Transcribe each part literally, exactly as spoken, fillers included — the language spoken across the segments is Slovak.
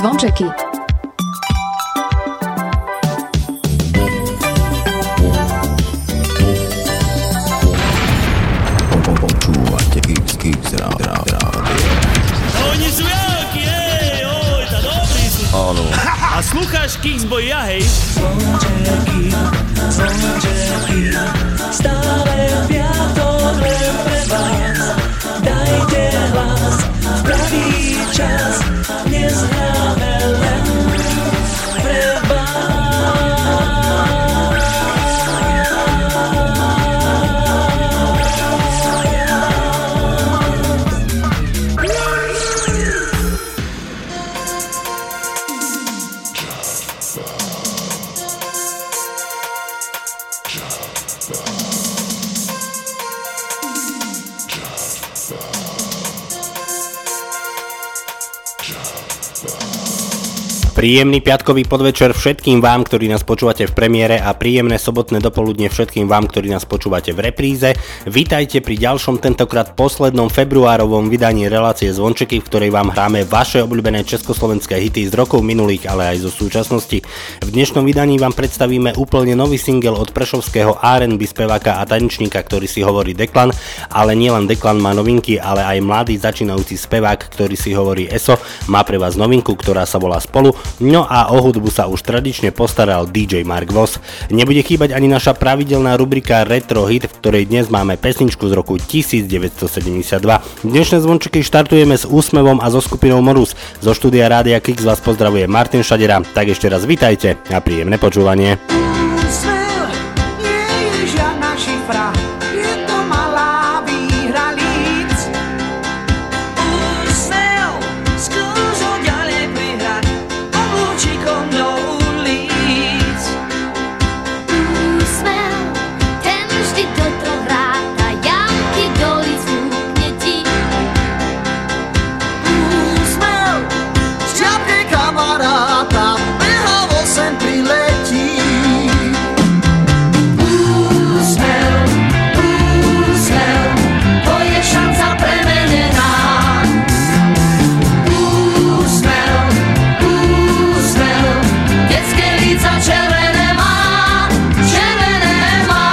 zvončeky. Počúvate Kix, Kix, rádio. Oni sú jakí, hej, oj, tá dobrý sú. Áno. A slúcháš Kixboy, ja, hej? Zvončeky, zvončeky, stále piatok len pre vás. Dajte hlas v pravý čas, dnes hráme len pre vás. Príjemný piatkový podvečer všetkým vám, ktorí nás počúvate v premiére, a príjemné sobotné dopoludne všetkým vám, ktorí nás počúvate v repríze. Vítajte pri ďalšom, tentokrát poslednom februárovom vydaní relácie Zvončeky, v ktorej vám hráme vaše obľúbené československé hity z rokov minulých, ale aj zo súčasnosti. V dnešnom vydaní vám predstavíme úplne nový single od prešovského á er end bí speváka a tanečníka, ktorý si hovorí Deklan, ale nielen Deklan má novinky, ale aj mladý začínajúci spevák, ktorý si hovorí Eso, má pre vás novinku, ktorá sa volá Spolu. No a o hudbu sa už tradične postaral dý džej Mark Voss. Nebude chýbať ani naša pravidelná rubrika Retro Hit, v ktorej dnes máme pesničku z roku devätnásťsedemdesiatdva. Dnešné zvončeky štartujeme s úsmevom a so skupinou Morus. Zo štúdia Rádia Kix vás pozdravuje Martin Šadera. Tak ešte raz vitajte a príjemné počúvanie. Úsmev nie je žiadna šifra, je to malá výhra líc. Úsmev skúso ďalej prihrať oblúčikom do ulic. Úsmev, ten vždy toto hráta, jamky do líc fúkne ti. Úsmev z ťapke kamaráta behavo sem priletí. Úsmev, úsmev, to je šanca premenená. Úsmev, úsmev, detské líca červené má, červené má.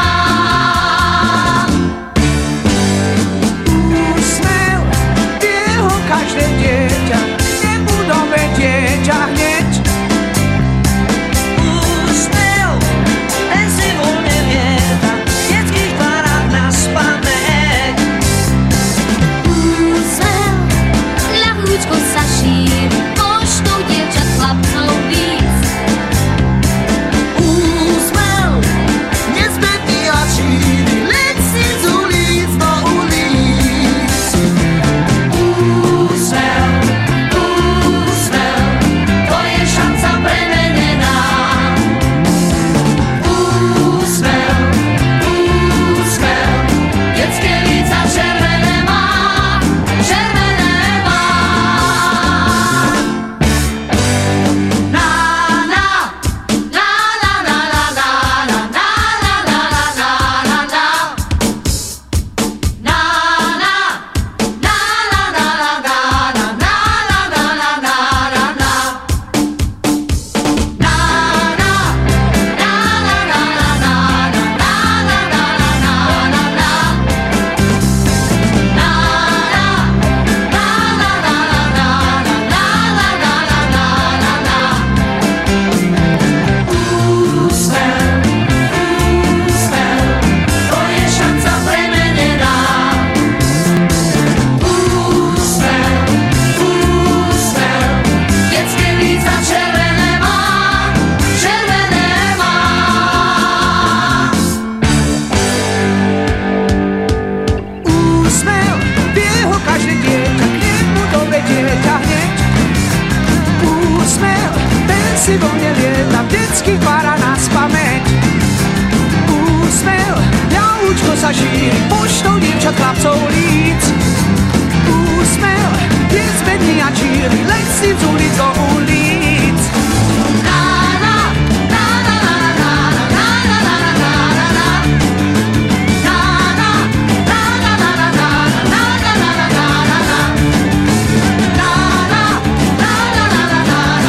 Úsmev, jeho každé dieťa, nebudové dieťa hneď. Úsmev, ten si voľne lieta, detských parád na spamäť. Úsmev, ľahúčko sa šíri, poštou dievčat chlapcov víc. Úsmev, nezbedný a číry, leď si z ulic do ulic. Úsmev, úsmev, to je šanca premenená. Úsmev, úsmev, detské líca červené má, červené má. Na, na, na, na, na, na, na, na, na, na, na, na, na, na. Na, na, na, na, na, na, na, na, na, na, na, na, na, na. Na, na, na, na, na, na, na, na, na, na, úsmev, jeho každé dieťa, k nemu dovedie ťa hneď. Úsmev, ten si voľne lieta, detský pára na spamäť. Úsmev, ľahúčko sa šíri, poštou dievčat chlapcov líc. Úsmev, je zbedný a číri, leď si z ulic do ulic. Na, na, na, na, na, na, na, na, na, na, na, na, na. Na, na, na, na, na, na, na, na, na, na, na, na, na, na. Na, na, na, na, na, na, na, na, na, na, na, na, na.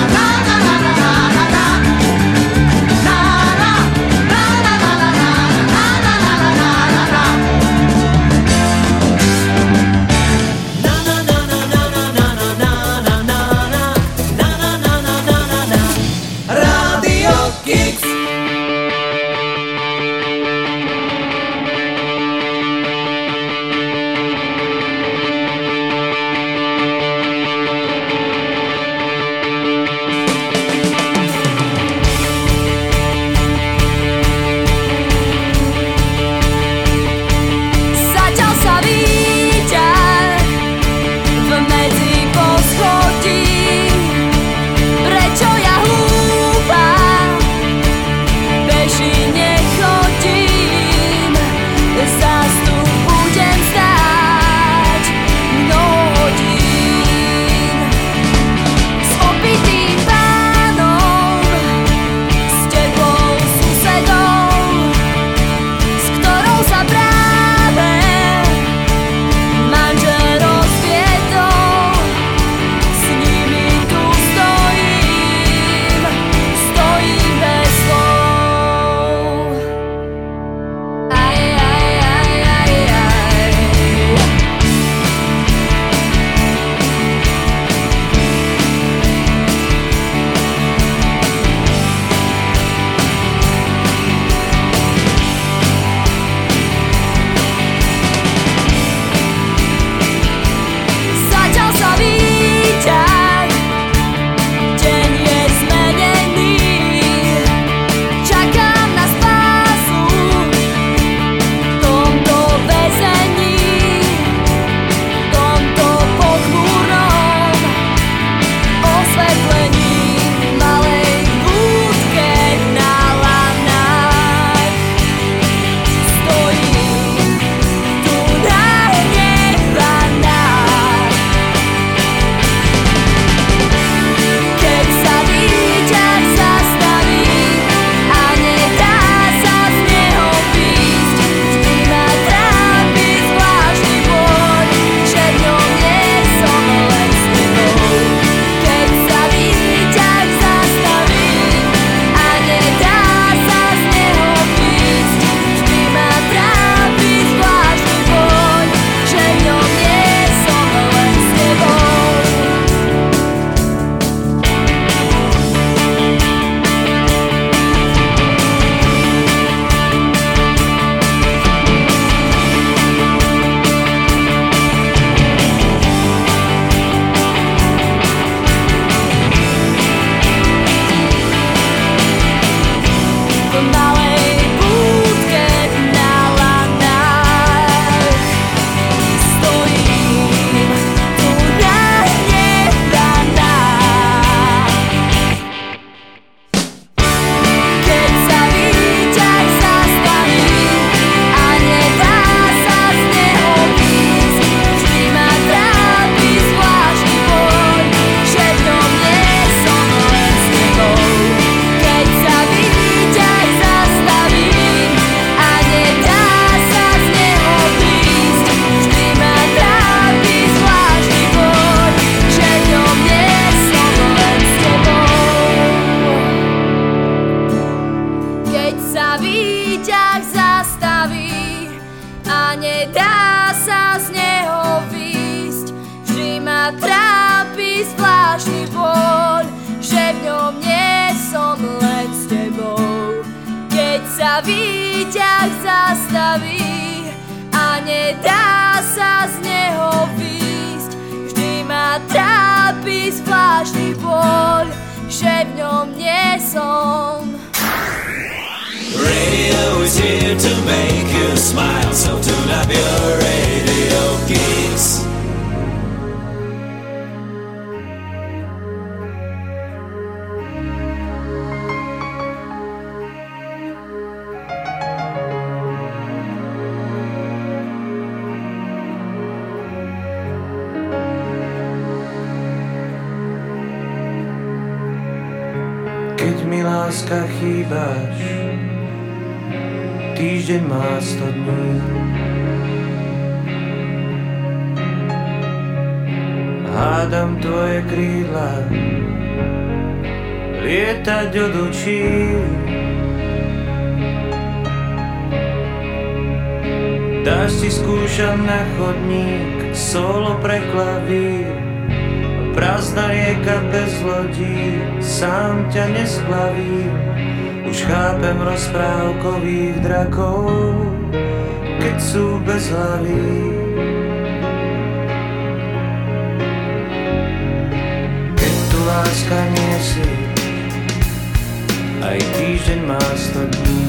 trápi zvláštny bol, že v ňom nie som len s tebou. Keď sa výťah zastaví a nedá sa z neho výjsť, vždy ma trápi zvláštny bol, že v ňom nie som. Radio is here to make you smile, so tune up your radio geeks. Keď mi láska chýbaš, týždeň má sto dní. Hádam tvoje krídla lietať od očí. Dáš si skúšam na chodník solo pre klavír. Prázdna rieka bez lodí, sám ťa nesplavím. Už chápem rozprávkových drakov, keď sú bez hlavy. Keď tu láska nie si, aj týždeň má sto dní.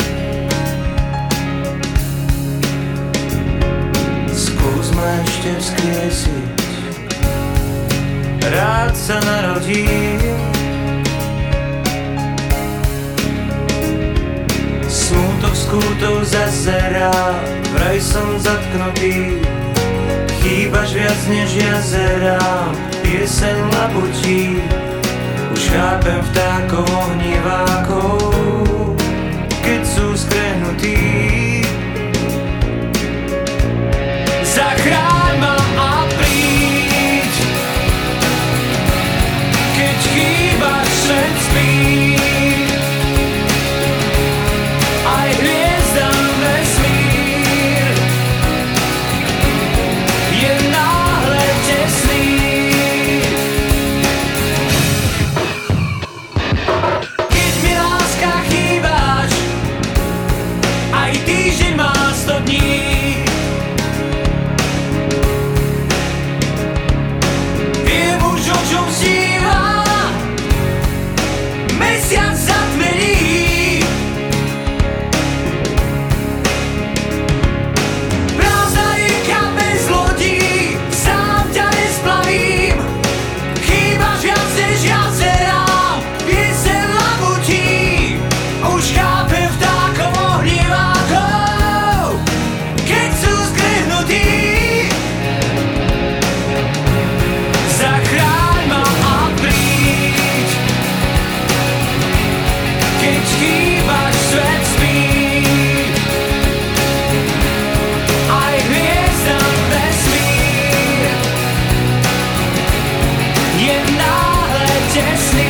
Skús ma ešte vzkriesiť, rád sa narodím. Smútok skútov zazerá, vraj som zatknutý. Chýbaš viac než jazera, pieseň labutí. Už chápem vtákov ohnívákov, keď sú skrehnutí. Zachráň ma a príď, keď chýbaš, svet spí. Aj hviezdam vesmír je náhle tesný. Keď mi láska chýbaš, aj týždeň má sto dní. Viem už, o čom sníva mesiac zatmení. Prázdna rieka bez lodí, sám ťa nesplavím. Chýbaš viac než jazera, pieseň labutí. Už chápem vtákov ohnívákov, keď sú skrehnutí. Zachráň ma a príď, keď chýbaš, svet spí. Aj hviezdam vesmír je náhle tesný.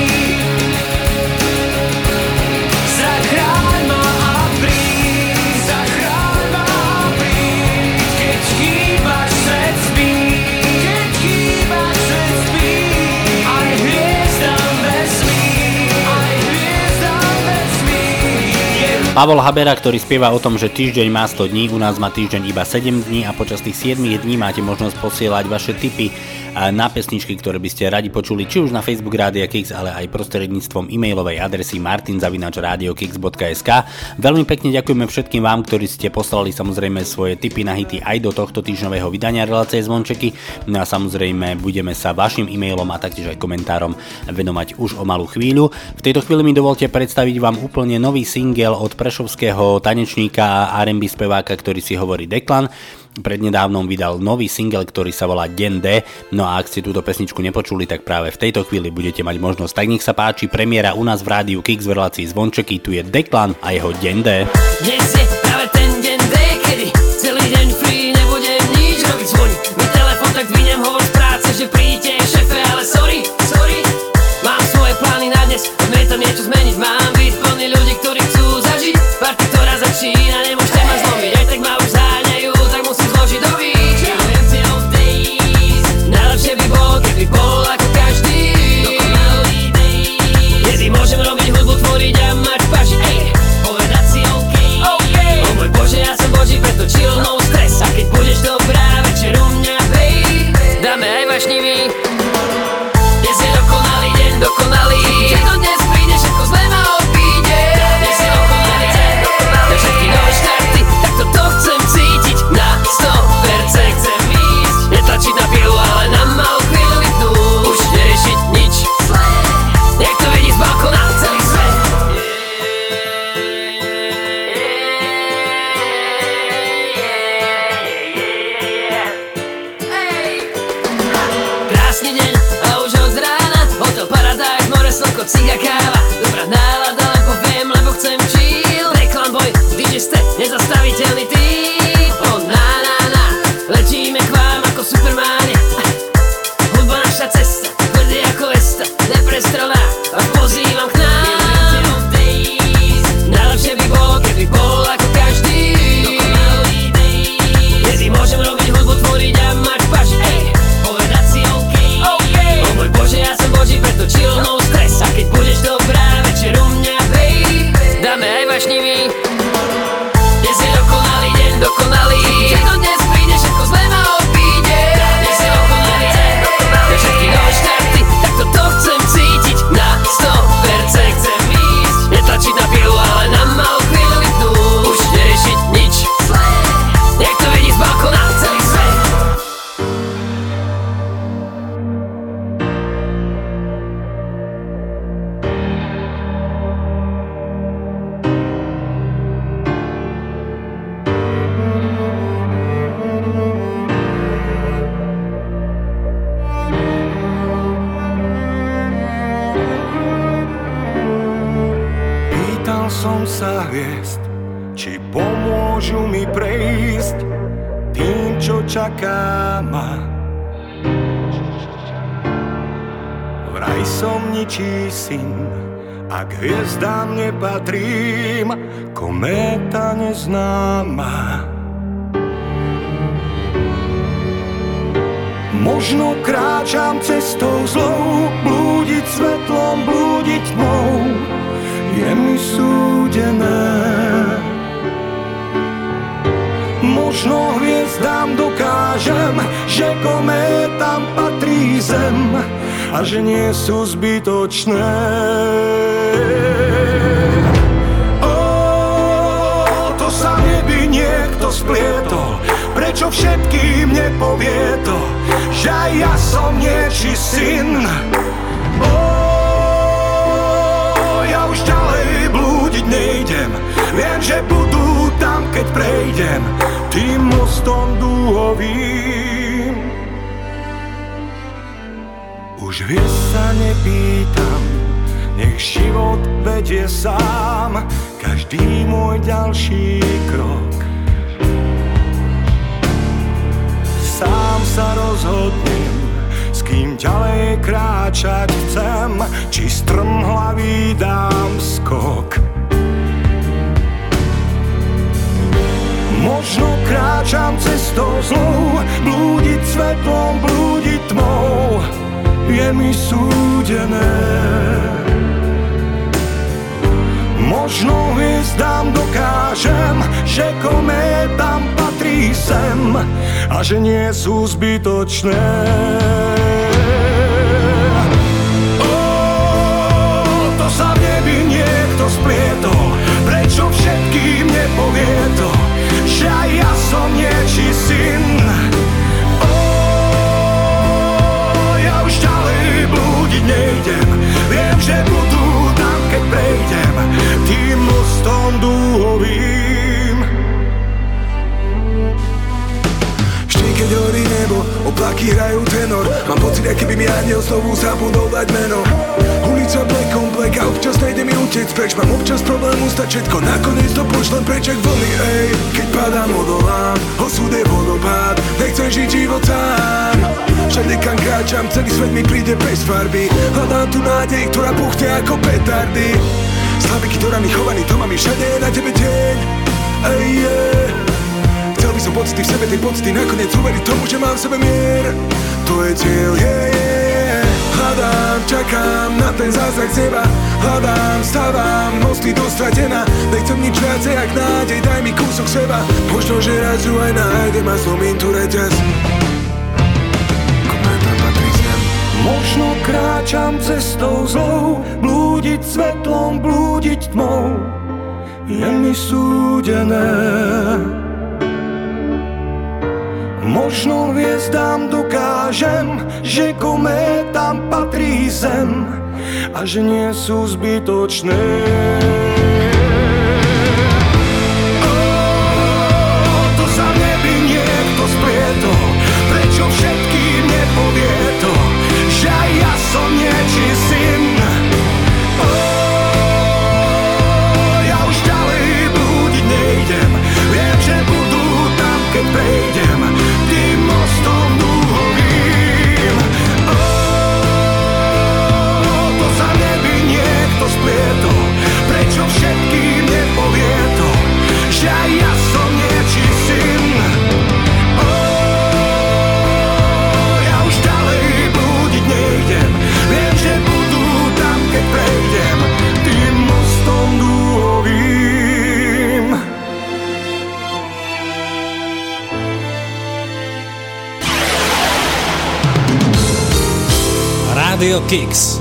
Zachráň ma a príď, zachráň ma a príď, keď chýbaš, svet spí. Keď chýbaš, svet spí. Aj hviezdam vesmír, aj hviezdam vesmír je. Pavol Habera, ktorý spieva o tom, že týždeň má sto dní, u nás má týždeň iba sedem dní a počas tých siedmich dní máte možnosť posielať vaše tipy na pesničky, ktoré by ste radi počuli, či už na Facebook Rádia Kix, ale aj prostredníctvom e-mailovej adresy martin zavináč radio kix bodka es ká. Veľmi pekne ďakujeme všetkým vám, ktorí ste poslali samozrejme svoje tipy na hity aj do tohto týždňového vydania relácie Zvončeky. No a samozrejme budeme sa vašim e-mailom a taktiež aj komentárom venovať už o malú chvíľu. V tejto chvíli mi dovolte predstaviť vám úplne nový single od prešovského tanečníka a er end bí speváka, ktorý si hovorí Deklan. Prednedávnom vydal nový single, ktorý sa volá Deň D. No a ak ste túto pesničku nepočuli, tak práve v tejto chvíli budete mať možnosť. Tak nech sa páči, premiéra u nás v rádiu Kix v relácii Zvončeky. Tu je Deklan a jeho Deň D. Dnes je práve ten deň D, kedy celý deň free, nebudem nič robiť, zvoní mi telefon, tak dvinem, hovor z práce, že príďte šefe, ale sorry, sorry. Mám svoje plány na dnes, poďme tam niečo zmeniť. Mám byť plný ľudí, ktorí chcú zažiť party, ktorá začína, nemôžete ma zlomiť. Aj tak ma už záňajú, tak musím zložiť do víč. Najlepšie by bolo, keby vášnivý. Dnes je dokonalý deň, dokonalý. Že to dnes príde, všetko zlé ma obíde. Dnes je dokonalý deň, dokonalý. Na všetky nové štarty, tak toto chcem cítiť. Na sto percent chcem ísť. Netlačiť na pilu, ale na malú chvíľu vypnúť. Už neriešiť nič zlé. Nech to vidí z balkóna celý svet. Krásny deň a už od rána hotel Paradise, more, slnko, ciga, káva. Dobrá nálada, len poviem, lebo chcem chill. Reklam boj, dý džej ste nezastaviteľný tým. Oh na na na, letíme k vám ako supermáni. Hudba naša cesta, tvrdý ako vesta, neprestrelná, vás pozývam k nám. Najlepšie by bolo, keby bol ako každý. Kedy môžem robiť hudbu, tvoriť a mať paš, ej. Povedať si OK, okay. O môj Bože, ja som Boží, preto chill, no stres. A keď budeš dobrá, večer u mňa, babe, dáme aj vášnivý. Dnes je dokonalý deň, dokonalý. Že to dnes príde, všetko zlé ma obíde. Dnes je dokonalý deň, dokonalý. Na všetky nové štarty, tak toto chcem cítiť. Na sto percent chcem ísť. Netlačiť na pilu, ale na malú chvíľu vypnúť. Už neriešiť nič zlé. Nech to vidí z balkóna celý svet. Pýtal som sa hviezd, či pomôžu mi prejsť tým, čo čaká ma. Vraj som ničí syn, a k hviezdám nepatrím, kométa neznáma. Možno kráčam cestou zlou, blúdiť svetlom, blúdiť tmou, je mi súdené. Možno hviezdám dokážem, že kométam patrí zem a že nie sú zbytočné. Ó, to sa v nebi niekto splietol, prečo všetkým nepovie to, že aj ja som niečí syn. Ó, ja už ďalej blúdiť nejdem, viem, že budú tam, keď prejdem tým mostom dúhovým. Už vieš sa nepýtam, nech život vedie sám každý môj ďalší krok. Sám sa rozhodnem, s kým ďalej kráčať chcem, či strmhlavý dám skok. Možno kráčam cestou zlou, blúdiť svetlom, blúdiť tmou, je mi súdené. Možno hviezdám dokážem, že kométam patrí sem a že nie sú zbytočné. Ó, to sa v nebi niekto splietol, prečo všetkým nepovie to, že aj ja som niečí syn. Ó, ja už ďalej blúdiť nejdem, viem, že budú tam, keď prejdem tým mostom dúhovým. Vždy, keď horí nebo, oblaky hrajú tenor, mám pocit, aký by mi aniel znovu zabudol dať meno. Ulica black on black a občas nejde mi utiec preč, mám občas problém ustať všetko, nakoniec to pošlem preč jak vlny, ej. Keď padám, odolám, osud je vodopád, nechcem žiť život sám. Všade kam kráčam, celý svet mi príde bez farby, hľadám tu nádej, ktorá buchne ako petardy. Slaviky, ktorými chovaný, to mám i všade je na tebe deň, ej, yeah. Chcel by som pocity v sebe, tej pocity nakoniec uveriť tomu, že mám v sebe mier. To je cieľ, yeah, yeah. Hľadám, čakám na ten zázrak z neba, hľadám, stávam, mosty do stratená. Nechcem nič viacej, jak nádej, daj mi kúsok seba. Možno, že raz ju aj nájdem a zlomím tu reťaz. Kométa Možno kráčam cestou zlou, blúdiť svetlom, blúdiť tmou je mi súdené. Možno hviezdám dokážem, že kométam patrí zem a že nie sú zbytočné. Ó, to sa v nebi niekto splietol, prečo všetkým nepovie to, že aj ja som niečí syn. Ó, ja už ďalej blúdiť nejdem, viem, že budú tam, keď prejdem tým mostom dúhovým. Ó, to sa v nebi niekto splietol, prečo všetkým nepovie to, že aj ja som niečí syn. Ó, ja už ďalej blúdiť nejdem, viem, že budú tam, keď prejdem tým mostom dúhovým. Radio Kicks.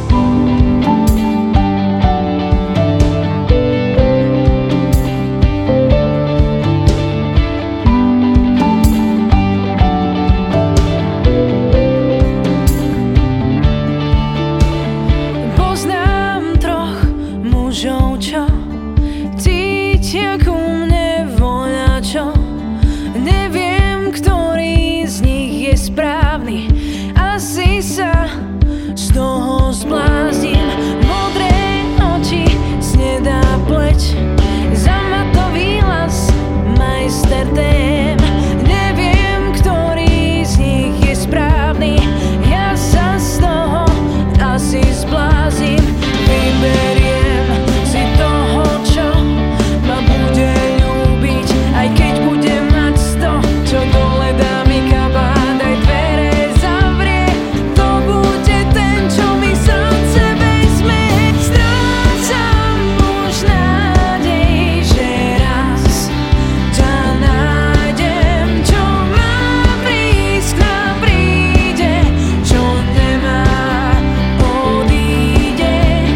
Poznám troch mužov, čo cítia ku mne voľačo. Neviem, ktorý z nich je správny, asi sa z toho zblázním. Modré oči, snedá pleť, zamatový hlas, majster tém. Neviem, ktorý z nich je správny, ja sa z toho asi zblázním. Vyberiem si toho, čo ma bude ľúbiť, aj keď budem mať sto, čo dole dá mi kabát, aj dvere zavrie. To bude ten, čo mi srdce vezme. Strácam už nádej, že raz ťa nájdem, čo má prísť, k nám príde, čo nemá, odíde.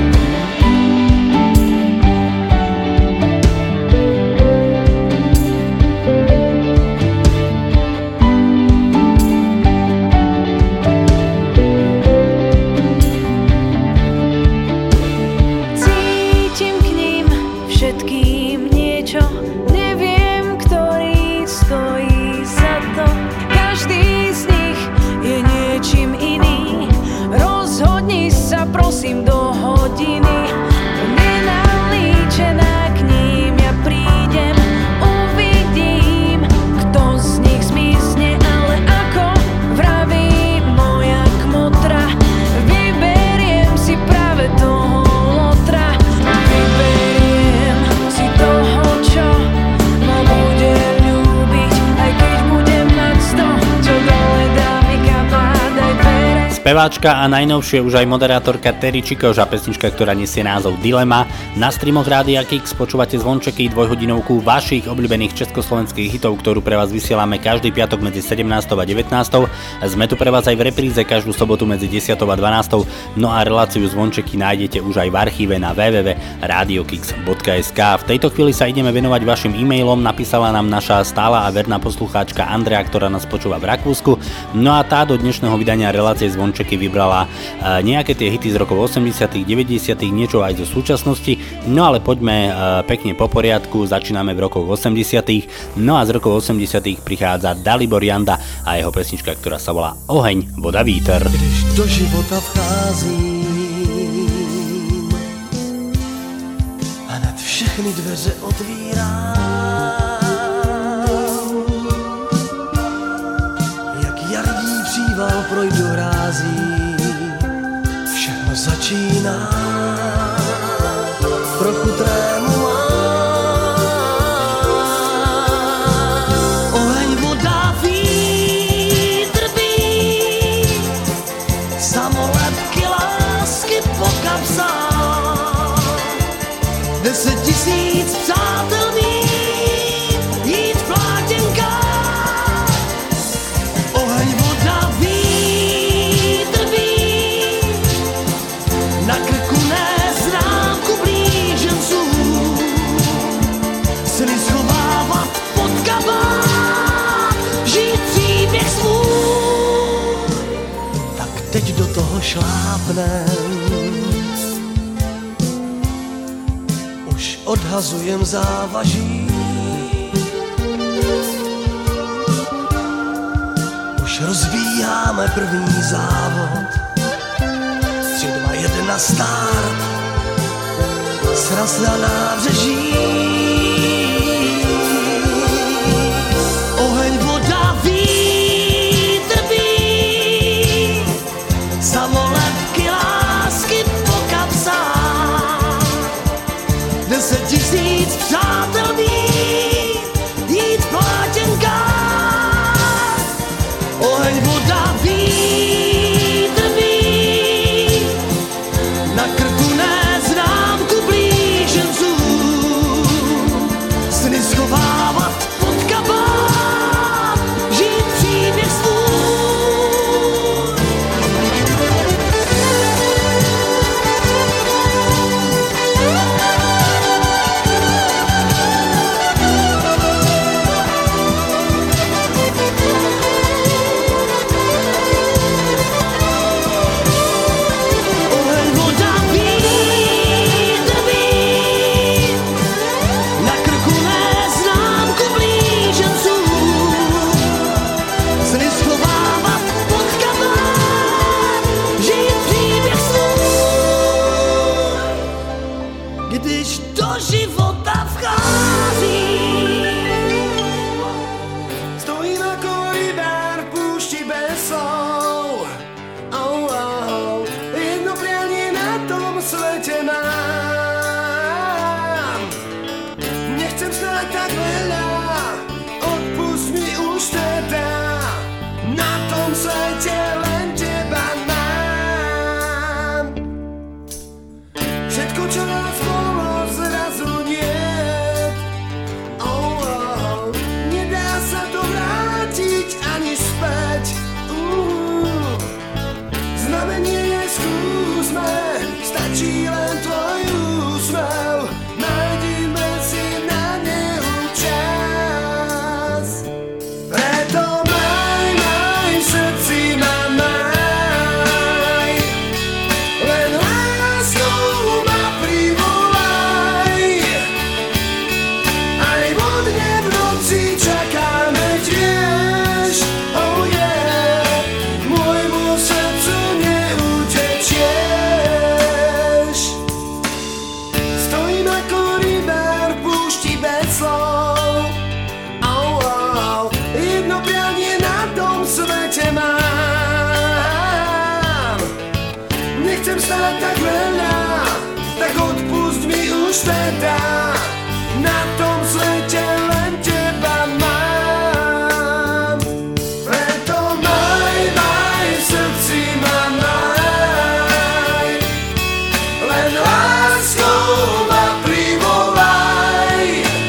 Cítim k ním všetkým niečo, neviem, ktorý stojí za to. Každý z nich je niečím iný. Rozhodni sa prosím do hodiny, nenalíčená k ním ja prídem. Uvidím, kto z nich zmizne, ale ako vraví moja kmotra, vyberiem si práve toho lotra. Vyberiem si toho, čo ma bude ľúbiť, aj keď budem mať sto, čo dole dá mi kabát, aj dvere. Speváčka a najnovšie už aj moderátorka Terry Čikoš a pesnička, ktorá nesie názov Dilema. Na streamoch Rádia Kix počúvate zvončeky, dvojhodinovku vašich obľúbených československých hitov, ktorú pre vás vysielame každý piatok medzi sedemnástou a devätnástou. Sme tu pre vás aj v repríze každú sobotu medzi desiatou a dvanástou. No a reláciu zvončeky nájdete už aj v archíve na w w w bodka radio kix bodka es ka. V tejto chvíli sa ideme venovať vašim e-mailom. Napísala nám naša stála a verná poslucháčka Andrea, ktorá nás počúva v Rakúsku. No a tá do dnešného vydania relácie zvončeky vybrala uh, nejaké tie hity z rokov osemdesiatych, deväťdesiatych, niečo aj zo súčasnosti. No ale poďme uh, pekne po poriadku, začíname v rokoch osemdesiatych. No a z rokov osemdesiatych prichádza Dalibor Janda a jeho pesnička, ktorá sa volá Oheň, voda, víter. Když do života vcházím, hned všechny dveře otvírám. Jak jarní příval projdu hrází, všechno začíná. Trochu trému mám. Oheň, voda, vítr bíj, samolepky lásky po kapsách. Deset tisíc přátel mít, jít v plátěnkách. Oheň, voda, vítr bíj, toho šlápnem. Už odhazujem závaží, už rozvíjáme první závod. Tři, dva, jedna, start, sraz na nábřeží. Oheň, voda, vítr bíj, samolepky, lásky po kapsách. Deset tisíc přátel mít, jít v plátěnkách. Oheň, voda, vítr bíj, na krku neznámku blíženců, sny schovávat pod kabát, žít příběh svůj. Oheň, voda, vítr bíj, na krku neznámku blíženců, sny schovávat pod kabát, žít příběh svůj. Když do života vchází, stojím jako rybár v púšti bez slov. Oh, oh, jedno prianie na tom svete mám. Nechcem snáď tak veľa, odpust mi už teda. Na tom svete len teba mám. Všetko, čo nás bolo, zrazu niet. Oh, oh, nedá sa to vrátiť ani späť. Uh, znamenie je skúsme, stačí len tvoj úsmev. Nájdime si na neho čas. Preto maj, maj, v srdci ma maj. Len láskou ma privolaj. Aj vodne v noci čakáme tiež. Oh yeah, môjmu srdcu neutečieš. Stojím ako rybár v púšti bez slov. Oh, oh, jedno prianie na tom svete mám. Nechcem stáť tak veľa, tak odpust mi už teda. Na tom svete len teba mám. Preto maj, maj, v srdci ma maj. Len láskou ma privolaj.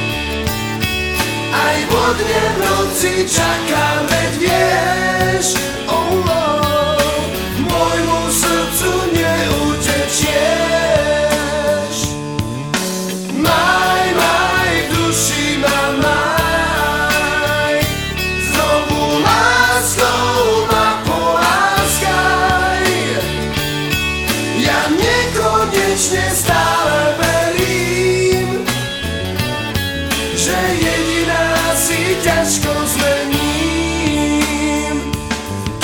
Aj vodne v noci čakám, veď vieš. Oh, oh, môjmu srdcu neutečieš. Maj, maj, v duši ma maj. Znovu láskou ma poláskaj. Ja nekonečne stále verím, že jediná si ťažko zmením.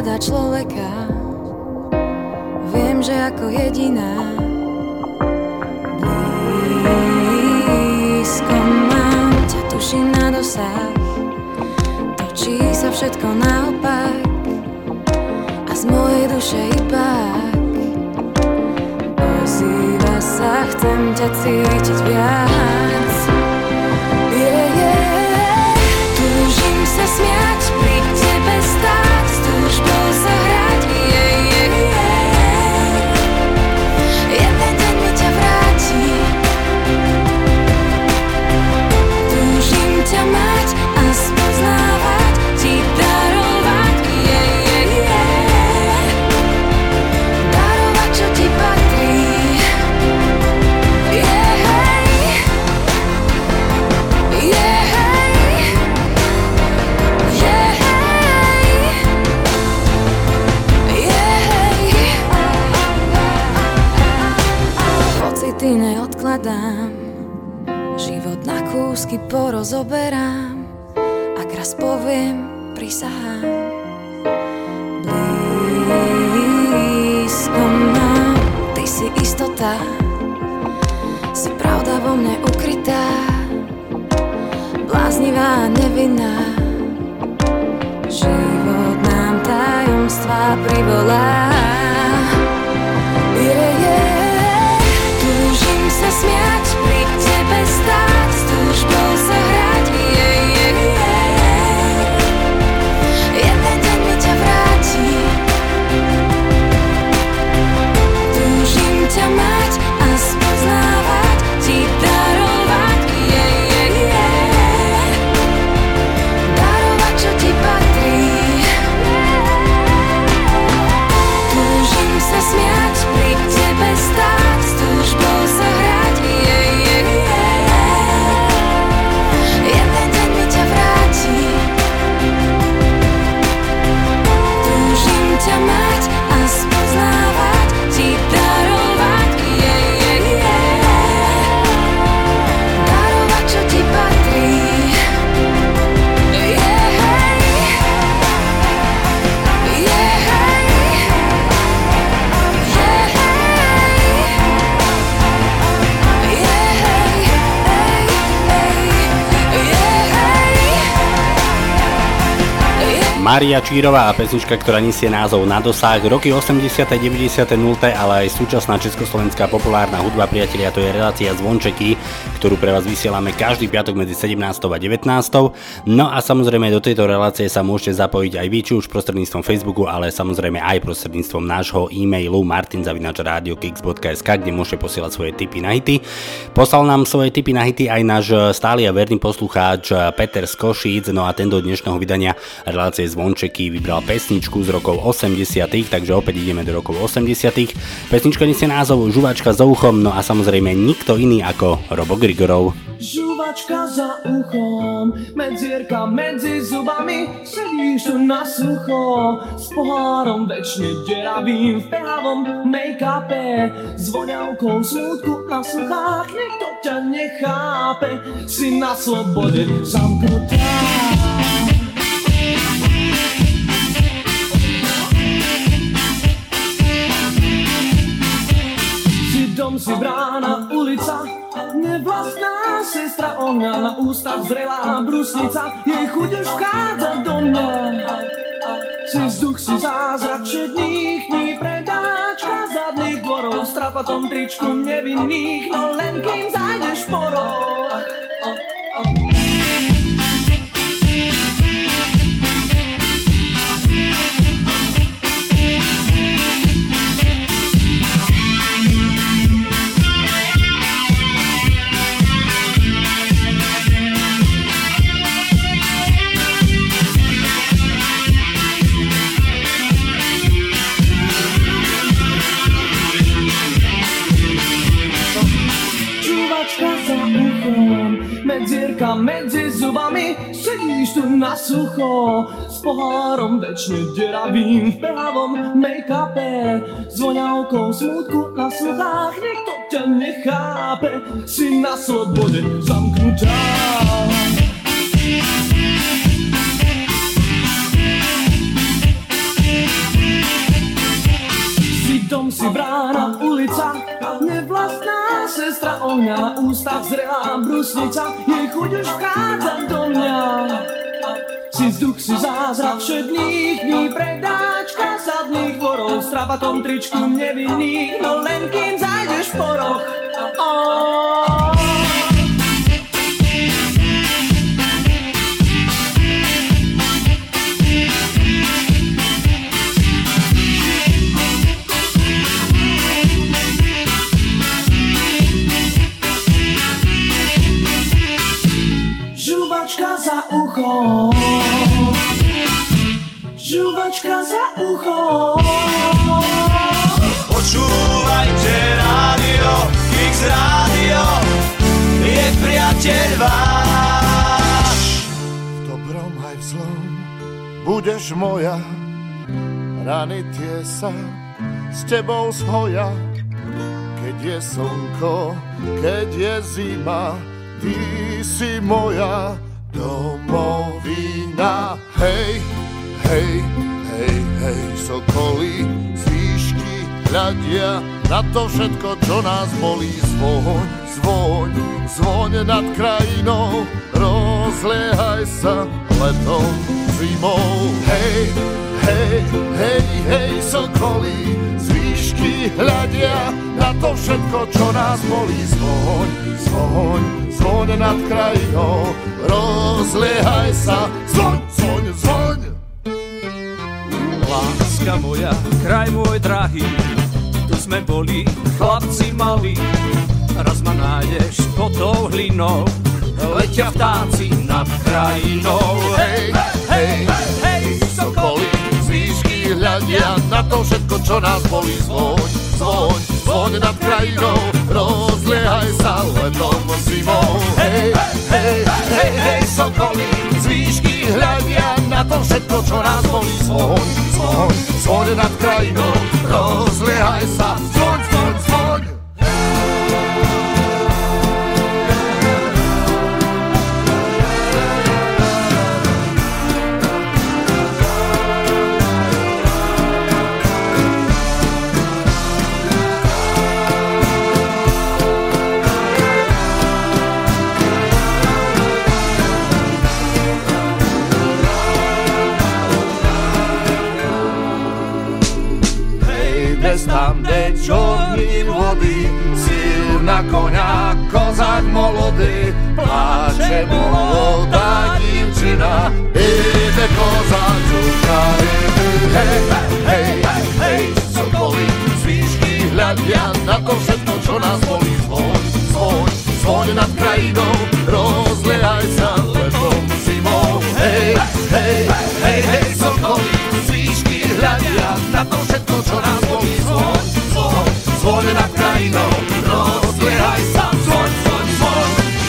ovláda človeka. Viem, že ako jediná blízko mám ťa, tuším na dosah. Točí sa všetko naopak a z mojej duše ibák ozýva sa, chcem ťa cítiť viac. Yeah, yeah. Túžim sa smiať, pri tebe stáť, s túžbou sa hrať. Yeah, yeah, yeah. Jeden deň mi ťa vráti. Túžim ťa mať a spoznávať, ti darovať. Yeah, yeah, yeah. Darovať, čo ti patrí. Yeah, hey. Yeah, hey. Yeah, hey. Yeah, hey. Pocity neodkladám, život na kúsky porozoberám. Ak raz poviem, prisahám. Blízko mám, ty si istota, si pravda vo mne ukrytá, bláznivá a nevinná. Život nám tajomstvá privolá. Yeah, yeah. Túžim sa smiať, pri tebe stáť, s túžbou sa hrať. Yeah, yeah, yeah. Jeden deň mi ťa vráti. Túžim ťa mať a spoznávať, ti darovať. Yeah, yeah, yeah. Darovať, čo ti patrí. Túžim sa smiať, pri tebe stáť, s túžbou sa hrať. Yeah, yeah, yeah. Jeden deň mi ťa vráti. Túžim ťa mať a spoznávať, ti darovať. Yeah, yeah, yeah. Darovať, čo ti patrí. Yeah, hey. Yeah, hey. Yeah, hey. Mária Čírová a pesnička, ktorá nesie názov Na dosah. Roky osemdesiate, deväťdesiate, nulté, ale aj súčasná československá populárna hudba, priatelia, to je relácia Zvončeky, ktorú pre vás vysielame každý piatok medzi sedemnástou a devätnástou. No a samozrejme do tejto relácie sa môžete zapojiť aj vy, či už prostredníctvom Facebooku, ale samozrejme aj prostredníctvom nášho e-mailu martin zavináč rádio kix bodka es ká, kde môžete posielať svoje tipy na hity. Poslal nám svoje tipy na hity aj náš stály a verný poslucháč Peter z Košíc, no a ten do dnešného vydania relácie Zvončeky vybral pesničku z rokov osemdesiatych, takže opäť ideme do rokov osemdesiatych. Pesnička nesie názov Žuvačka za uchom, no a samozrejme nikto iný ako Robo Grigorov. Žuvačka za uchom, medzierka medzi zubami, sedíš tu na sucho, s pohárom večne deravým, v pehavom make-upe, s voňavkou smútku na sluchách, nikto ťa nechápe, si na slobode zamknutá. Dom si brána, ulica, nevlastná sestra ohňa, na ústach zrelá brusnica, jej chuť už vchádza do mňa. Si vzduch, si zázrak všetných dní, predáčka zadných dvorov, v strapatom tričku nevinných, no len kým zájdeš porov. Medzierka medzi zubami, sedíš tu na sucho, s pohárom večne deravým, v pehavom make-upe, s voňavkou smútku na sluchách, nikto ťa nechápe, si na slobode zamknutá. sestra ohňa, na ústach zrelá brusnica, jej chuť už vchádza do mňa. Si vzduch, si zázrak všedných dní, predáčka sadných dvorov, v strabatom tričku nevinných, no len kým zajdeš po roh. Oh. Žuvačka za ucho, žuvačka za ucho. Počúvajte rádio, Kix rádio, je priateľ váš. V dobrom aj v zlom budeš moja, rany tie sa s tebou zhoja. Keď je slnko, keď je zima, ty si moja domovina. Hej, hej, hej, hej, sokolí z výšky hľadia na to všetko, čo nás bolí. Zvoň, zvoň, zvoň nad krajinou, rozliehaj sa letom, zimou. Hej, hej, hej, hej, sokolí z výšky hľadia na to všetko, čo nás bolí. Zvoň, zvoň, zvoň nad krajinou, rozliehaj sa, zvoň, zvoň, zvoň. Láska moja, kraj môj drahý, tu sme boli chlapci malí. Raz ma nájdeš pod tou hlinou, letia vtáci nad krajinou. Hej, hej, hej, sokolí z výšky hľadia na to všetko, čo nás bolí. Zvoň, zvoň, zvoň nad krajinou, rozliehaj sa letom, zimou. Hej, hej, hej, hej, sokolí z výšky hľadia na to všetko, čo nás bolí. Zvoň, zvoň, zvoň nad krajinou, rozliehaj sa, zvoň, zvoň, zvoň. Tam, kde čorním vody, silná koňa, kozák molodý, pláče molodá divčina, ide kozák, čuka, hej, hej, hej, sokolí z výšky hľadia na to všetko, čo nás bolí. Zvoň, zvoň, zvoň nad krajinou, rozliehaj sa letom, zimou. Hej, hej, hej, hej, sokolí z výšky hľadia na to všetko, čo nás bolí. Zvoň, zvoň, zvoň nad krajinou, rozliehaj sa, zvoň, zvoň, zvoň.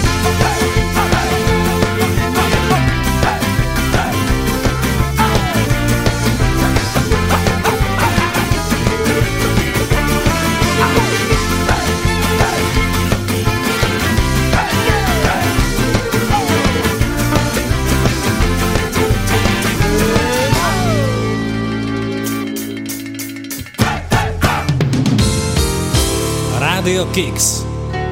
Radio Kix.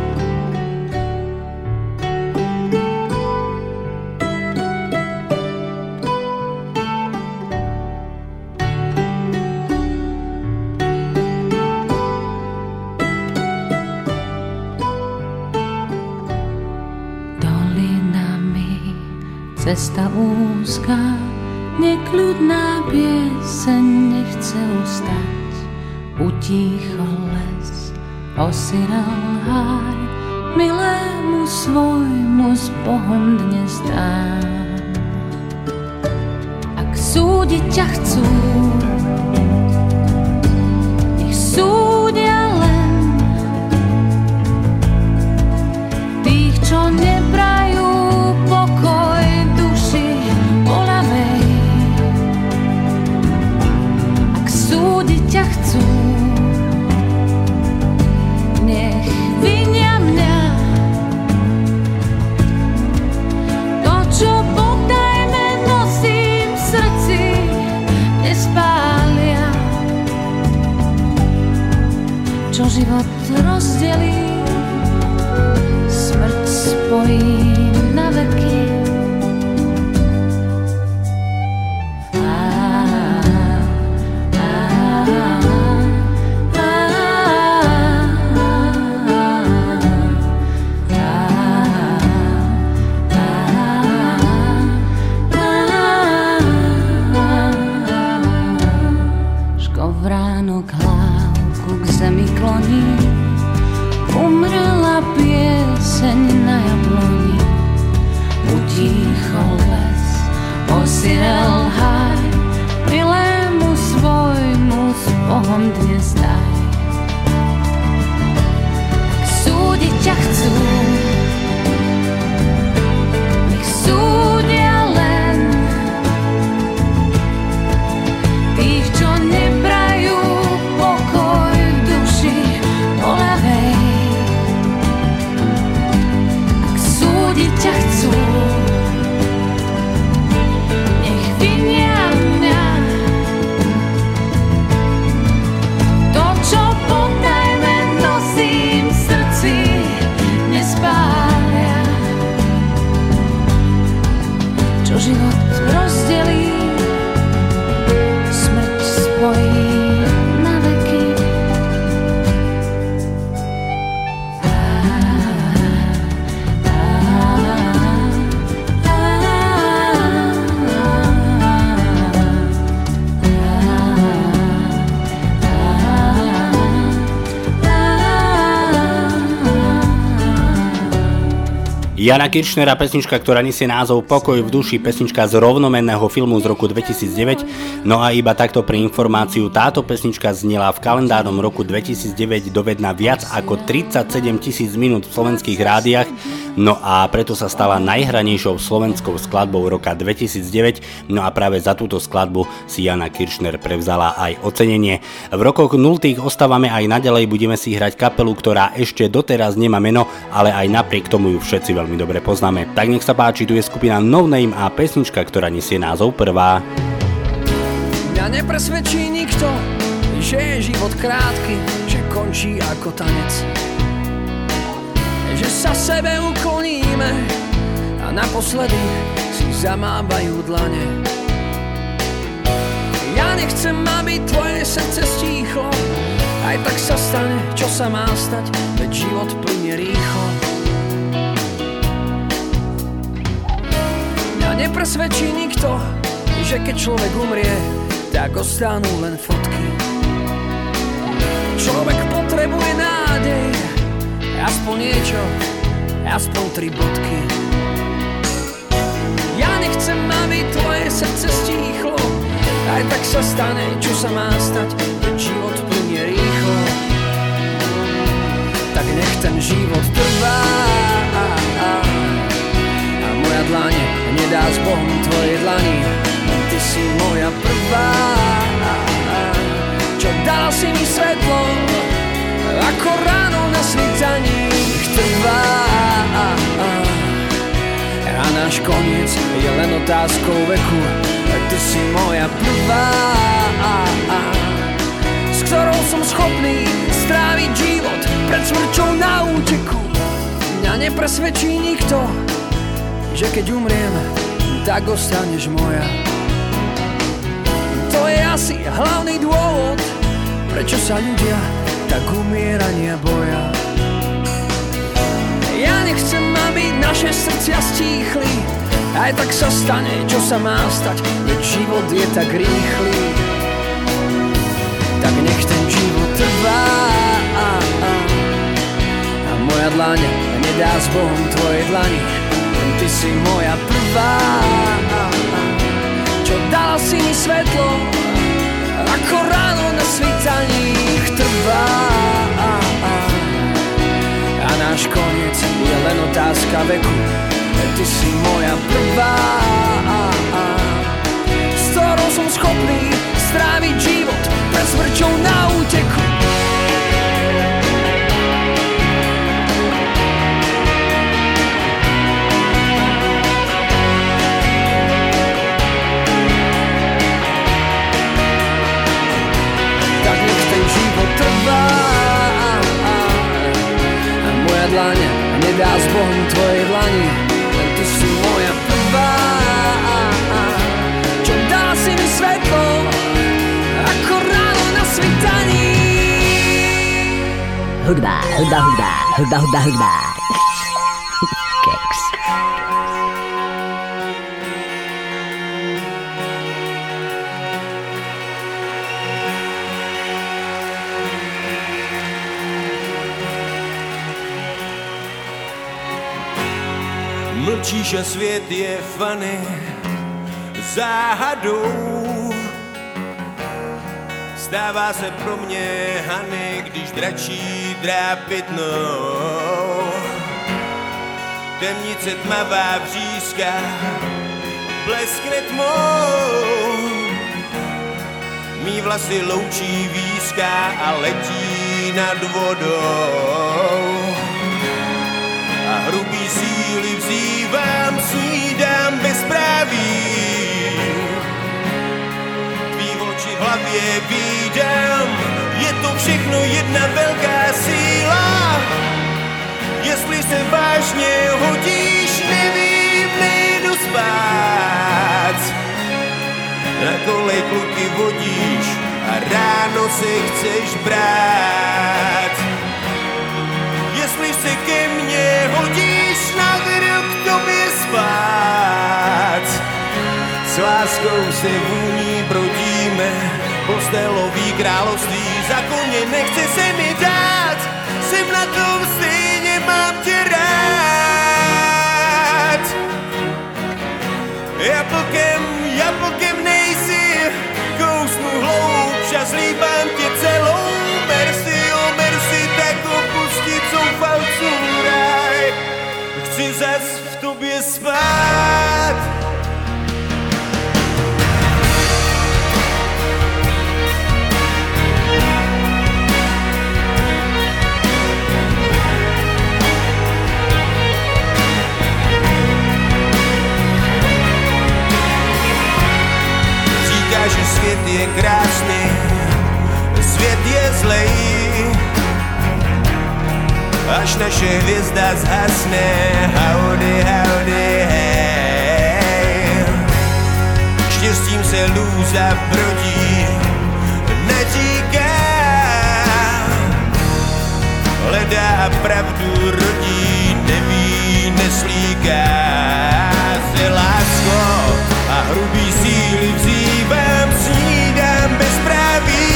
Dolinami cesta úzka, nekľudná pieseň nechce ustať. Utíchol les, osiral háj, milému svojmu s Bohom dnes dám. Ak súdiť ťa chcú, nech súdia len tých, čo neprajú pokoj duši voľavej. Ak súdiť ťa chcú, nech vinia mňa. To, čo potajme nosím v srdci, nespália. Čo život rozdelí, smrť spojím na veky. Vránok hlávku k zemi kloní, umrela pieseň na jabloni. Utíchol les, osirel háj, milému svojmu s Bohom dnes daj. Ak súdiť ťa chcú, nech súdia len tých, čo neprajú pokoj v duši bolavej. Ak súdiť ťa chcú, nech vinia mňa. To, čo potajme nosím v srdci, nespália. Čo život rozdelí, smrť spojí na veky. Jana Kiršnera, pesnička, ktorá nesie názov Pokoj v duši, pesnička z rovnomenného filmu z roku dvetisícdeväť. No a iba takto pre informáciu, táto pesnička znela v kalendárnom roku dvetisícdeväť dovedna viac ako tridsaťsedem tisíc minút v slovenských rádiách, no a preto sa stala najhranejšou slovenskou skladbou roka dvetisícdeväť, no a práve za túto skladbu si Jana Kiršner prevzala aj ocenenie. V rokoch nultých ostávame aj naďalej, budeme si hrať kapelu, ktorá ešte doteraz nemá meno, ale aj napriek tomu ju všetci veľmi dobre poznáme. Tak nech sa páči, tu je skupina No Name a pesnička, ktorá nesie názov Prvá. Mňa nepresvedčí nikto, že je život krátky, že končí ako tanec, že sa sebe ukloníme a naposledy si zamávajú dlane. Ja nechcem, aby tvoje srdce stíchlo, aj tak sa stane, čo sa má stať, veď život plynie rýchlo. Nepresvedčí nikto, že keď človek umrie, tak ostanú len fotky. Človek potrebuje nádej, aspoň niečo, aspoň tri bodky. Ja nechcem, aby tvoje srdce stíchlo, aj tak sa stane, čo sa má stať, keď život plynie rýchlo. Tak nech ten život trvá a moja dlaň nedá s Bohom tvoje dlani. Ty si moja prvá, čo dala si mi svetlo, ako ráno na svítaní trvá. A náš koniec je len otázkou veku. Ty si moja prvá, s ktorou som schopný stráviť život pred smrťou na úteku. Mňa nepresvedčí nikto, že keď umriem, tak ostaneš moja. To je asi hlavný dôvod, prečo sa ľudia tak umierania boja. Ja nechcem, aby naše srdcia stíchli, aj tak sa stane, čo sa má stať, veď život je tak rýchly. Tak nech ten život trvá a moja dlaň nedá s Bohom tvoje dlani. Ty si moja prvá, čo dala si mi svetlo, ako ráno na svítaní trvá. A náš koniec je len otázka veku. Ty si moja prvá, s ktorou som schopný stráviť život pred smrťou na úteku. Trvá a moja dlaň nedá s Bohom tvojej dlani, len ty si moja prvá, čo dá si mi svetlo, ako ráno na svitaní. Hudba, hudba, hudba, hudba, hudba, hudba. Keks. Mlčíš a svět je fany záhadou. Stává se pro mě Hany, když dračí drápy tnou. Temnice tmavá břízka bleskne tmou. Mí vlasy loučí výzka a letí nad vodou. A hrubý síly vzývám, snídám bezpráví. Tvý oči v hlavě vídám, je to všechno jedna velká síla. Jestli se vážně hodíš, nevím, nejdu spát. Na kolej kluky vodíš a ráno se chceš brát. Jestli se ke mně hodíš, navedu k tobě spát. S láskou se vůní brodíme, postelový království, za koně nechce se mi dát. Jsem na tom stejně, mám tě rád. Jablkem, jablkem nejsi, kousnu hloubš a zlíbám tě celou. Merci, oh merci, tak opustit zoufalců ráj. Chci zas v tobě spát. Říká, že svět je krásný, svět je zlej. Až naše hvězda zhasne, howdy, howdy, hej. Štěstím se lůza brodí, netíká. Hledá pravdu, rodí, neví, neslíká. Se lásko a hrubý síly vzývám, snídám bezpráví.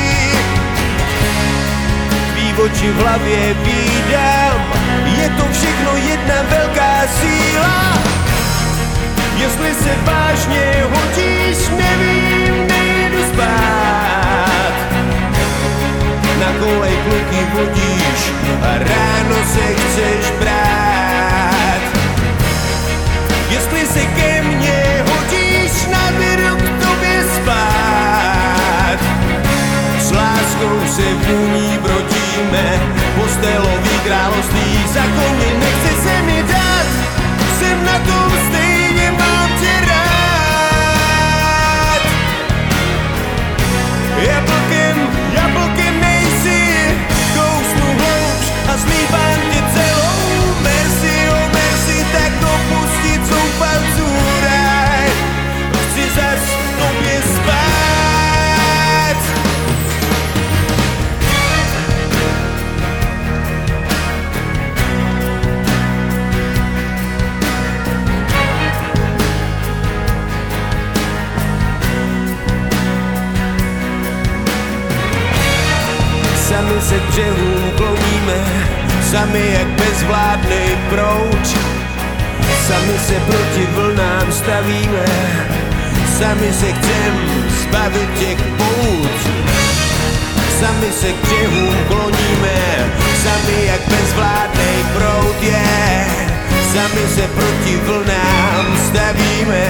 Oči v hlavě vídám, je to všechno jedna velká síla. Jestli se vážně hodíš, nevím, nejdu spát. Na kolej kluky vodíš a ráno se chceš brát. Jestli se ke mně hodíš, navedu k tobě spát. S láskou se vůní brodíme, postelový království, za koně nechce se mi dát. Jsem na tom stejně, mám tě rád. Jablkem, jablkem nejsi, kousnu hloubš a zlíbám tě celou. Merci, oh merci, tak opustit zoufalců ráj. Chci zas v tobě spát. Sami se k břehům kloníme, sami jak bezvládnej proud. Sami se proti vlnám stavíme, sami se chcem zbavit těch pout. Sami se k břehům kloníme, sami jak bezvládnej proud je. Yeah. Sami se proti vlnám stavíme.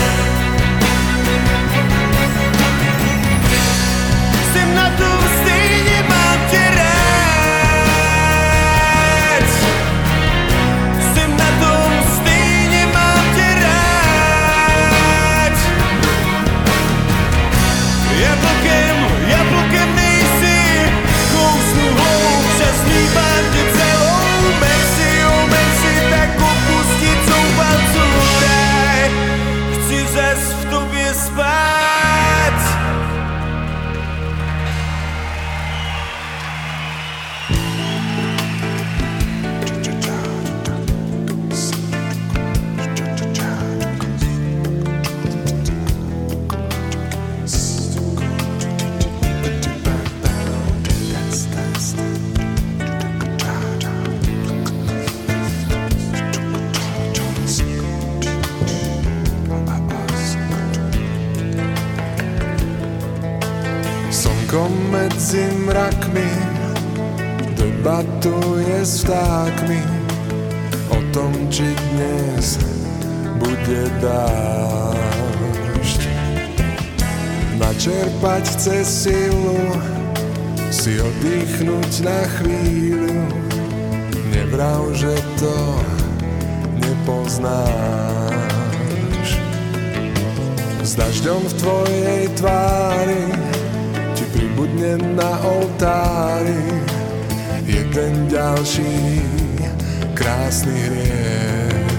Jsem na tom stejně, mám tě rád. Jsem na tom stejně, mám tě rád. Jablkem, jablkem nejsi, kousnu hloubš a slíbám tě celou. Merci, oh Ticho medzi mrakmi debatuje s vtákmi o tom, či dnes bude dážď. Načerpať chce silu, si oddychnúť na chvíľu. Nevrav, že to nepoznáš. S dažďom v tvojej tvári ti pribudne na oltári jeden ďalší krásny hriech.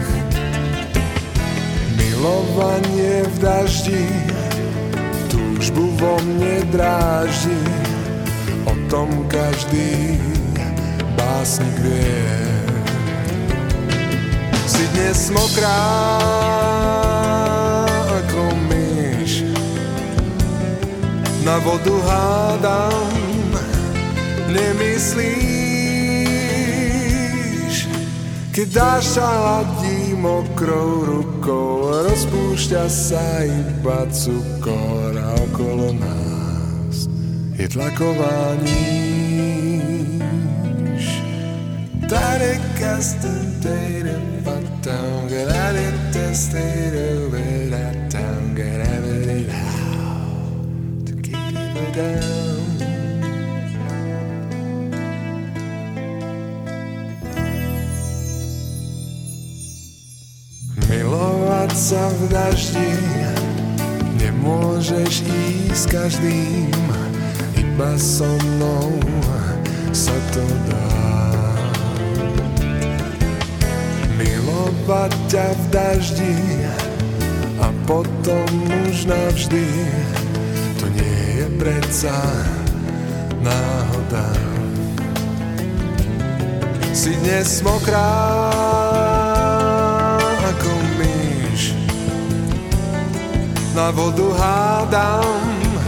Milovanie v daždi túžbu vo mne dráždi, o tom každý básnik vie. Si dnes mokrá ako myš, na vodu hádam, nemyslíš, keď dáš sa hladí mokrou rukou, rozpúšťa sa iba cukor a okolo nás je tlaková níž. Milovať sa v daždi nemôžeš ísť s každým, iba so mnou sa to dá. Milovať ťa v daždi a potom už navždy, to nie je predsa náhoda. Si dnes mokrá ako myš, na vodu hádam,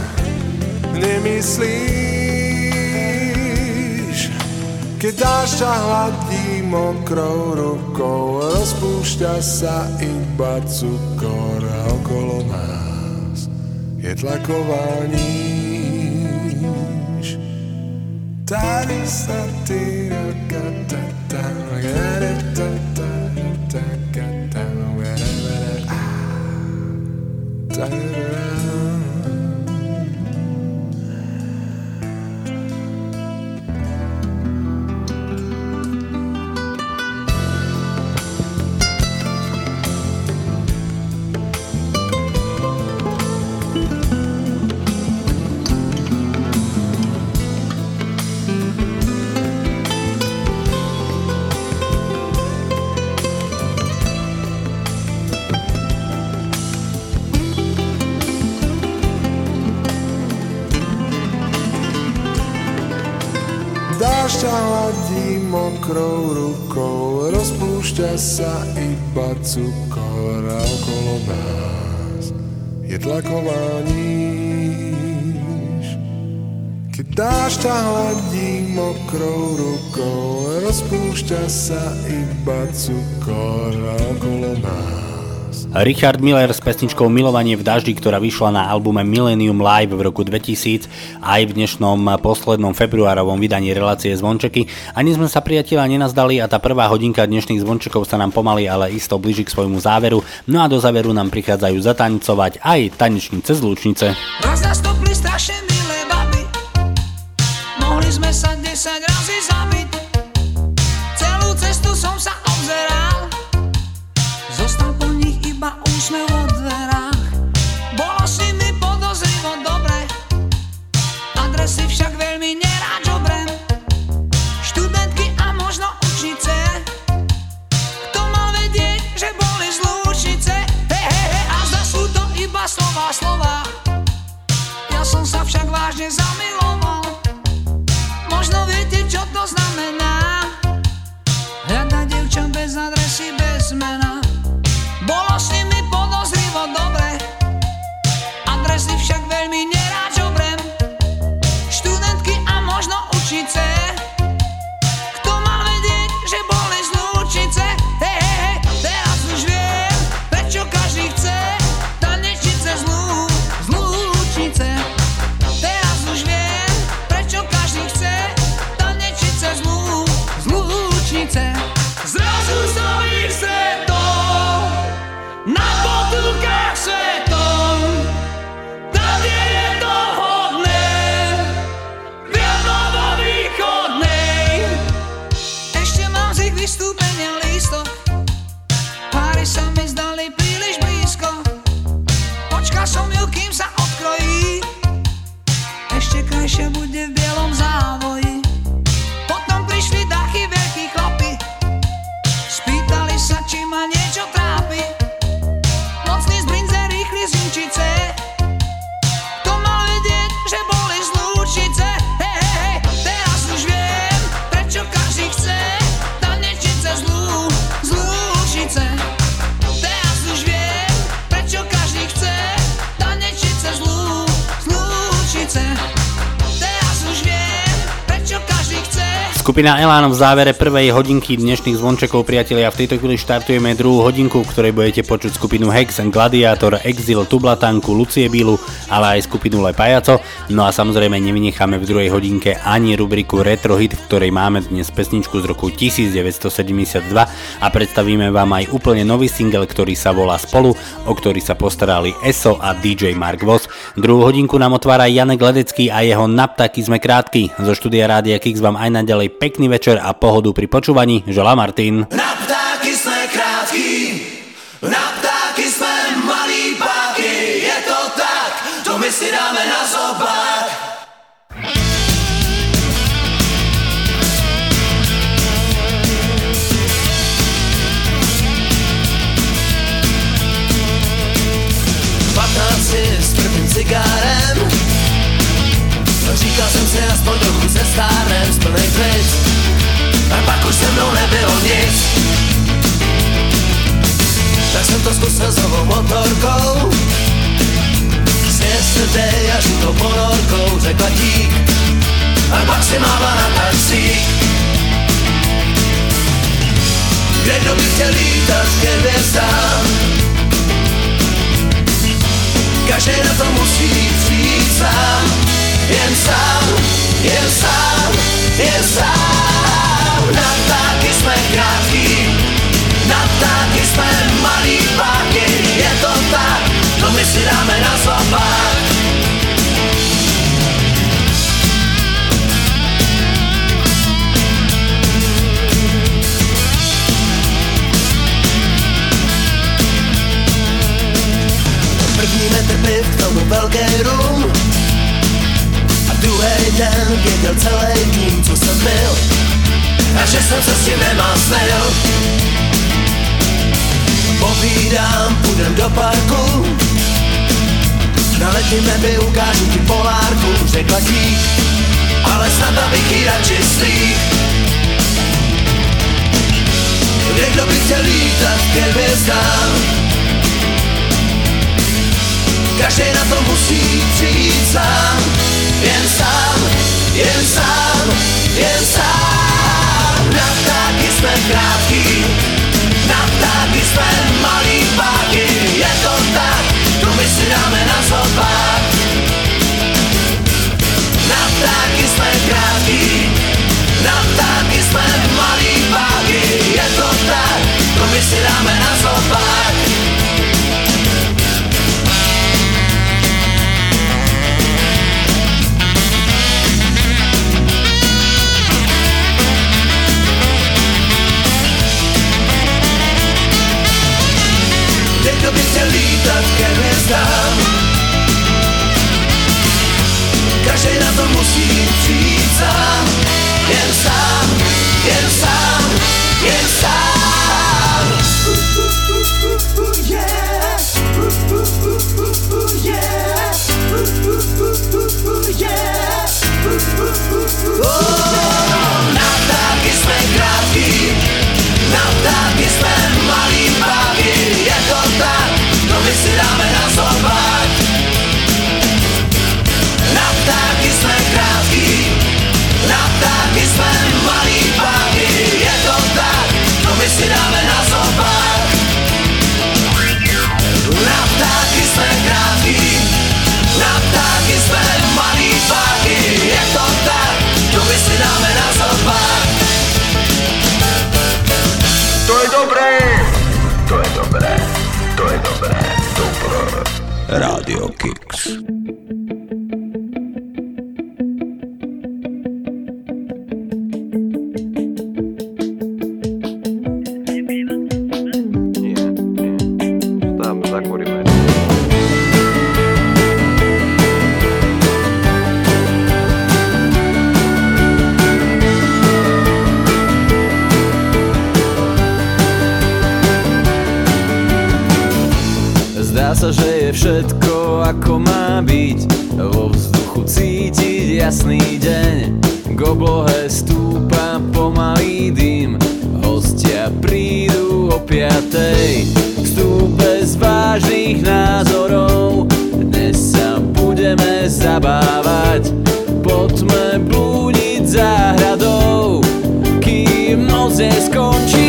nemyslíš, keď dáš sa hladí mokrou rukou, rozpúšťa sa iba cukor a okolo nás je tlaková níž. Tady sa ty rakatata, garetata, takata, ta-da. Dáš ťa hladí mokrou rukou, rozpúšťa sa iba cukor a okolo nás je tlaková níž. Keď dáš ťa hladí mokrou rukou, rozpúšťa sa iba cukor a okolo nás. Richard Miller s pesničkou Milovanie v daždi, ktorá vyšla na albume Millennium Live v roku dvetisíc, aj v dnešnom poslednom februárovom vydaní relácie Zvončeky. Ani sme sa priatelia nenazdali a tá prvá hodinka dnešných zvončekov sa nám pomaly, ale isto blíži k svojmu záveru. No a do záveru nám prichádzajú zatancovať aj tanečnice z Lučnice. Nás nastopli strašne milé baby, mohli sme sa desať razy zabiť. Celú cestu som sa obzeral, zostal po nich iba úsmev vo dverách. Bolo s nimi podozrivo dobre, adresy však veľmi nerád žobrem. Študentky a možno učnice, kto mal vedieť, že boli z Lučnice. He, he, he, a zda sú to iba slova, slova. Ja som sa však vážne zamiloval. Možno viete, čo to znamená, hľadať dievča bez adresy, bez mena. Bolo s nimi podozrivo dobre, adresy však veľmi nerád žobrem. Študentky a možno učnice, kto mal vedieť, že boli z Lučnice. Hej, hej, hej, teraz už viem, prečo každý chce tanečnice z Lučnice. Teraz už Skupina Elán v závere prvej hodinky dnešných zvončekov, priatelia. V tejto chvíli štartujeme druhú hodinku, v ktorej budete počuť skupinu Hex, Gladiátor, Exil, Tublatanku, Lucie Bílu, ale aj skupinu Le Pajaco. No a samozrejme nevynecháme v druhej hodinke ani rubriku Retro Hit, v ktorej máme dnes pesničku z roku devätnásťsedemdesiatdva a predstavíme vám aj úplne nový single, ktorý sa volá Spolu, o ktorý sa postarali Eso a dý džej Mark Voss. Druhú hodinku nám otvára Janek Ledecký a jeho Na ptáky sme krátky. Zo štúdia Rádia Kix vám aj naďalej pekný večer a pohodu pri počúvaní želá Martin. Na ptáky sme krátky, na ptáky sme malí páky, je to tak, to my si dáme na zobák. patnáct je s prvým cigárem, říkal jsem si aspoň trochu se stárnem z plnej plic, a pak už se mnou nebylo nic. Tak jsem to zkusil s novou motorkou, s yesterday a žitou ponorkou, řekla dík, a pak si mávla na taxík. Kde kdo by chtěl lítat ke hvězdám, každý na to musí přijít sám. Jen sám, jen sám, jen sám. Na ptáky jsme krátký, na ptáky jsme malý páky, je to tak, to my si dáme na zobák. První metr piv, k tomu velký rum, druhý den věděl celý tým, co jsem byl, a že jsem se s tím nemásnil. Povídám, půjdem do parku, na letním nebi ukážu ti polárku, řekla dík, ale snad abych jí radši slík. Kde kdo by chtěl lítat ke hvězdám, každý na to musí přijít sám. Jen sám, jen sám, jen sám. Na ptáky jsme krátký, na ptáky jsme malý páky, je to tak, to my si dáme na zobák. Na ptáky jsme krátký, na ptáky jsme malý páky, je to tak, to my si dáme na zobák. Kdo by chtěl lítat ke hvězdám, každý na to musí přijít sám. Jen sám, jen sám, jen sám. Yeah, yeah, oh, na ptáky jsme krátký, na ptáky jsme malý páky, je to tak, to my si dáme na zobák. Na ptáky jsme krátký, na ptáky jsme malý páky, je to tak, to my si dáme na zobák. Na ptáky jsme krátký, na ptáky jsme malý páky, je to tak, to my si dáme na zobák. To je dobré, to je dobré, to je dobré, dobré. Rádio Kix. Tam zakúrime. Zdá sa, že je všetko ako má byť, vo vzduchu cítiť jasný deň. K oblohe stúpa pomalý dym, hostia prídu o piatej. Vstúpe z vážnych názorov, dnes sa budeme zabávať. Poďme blúdiť záhradou, noc neskončí.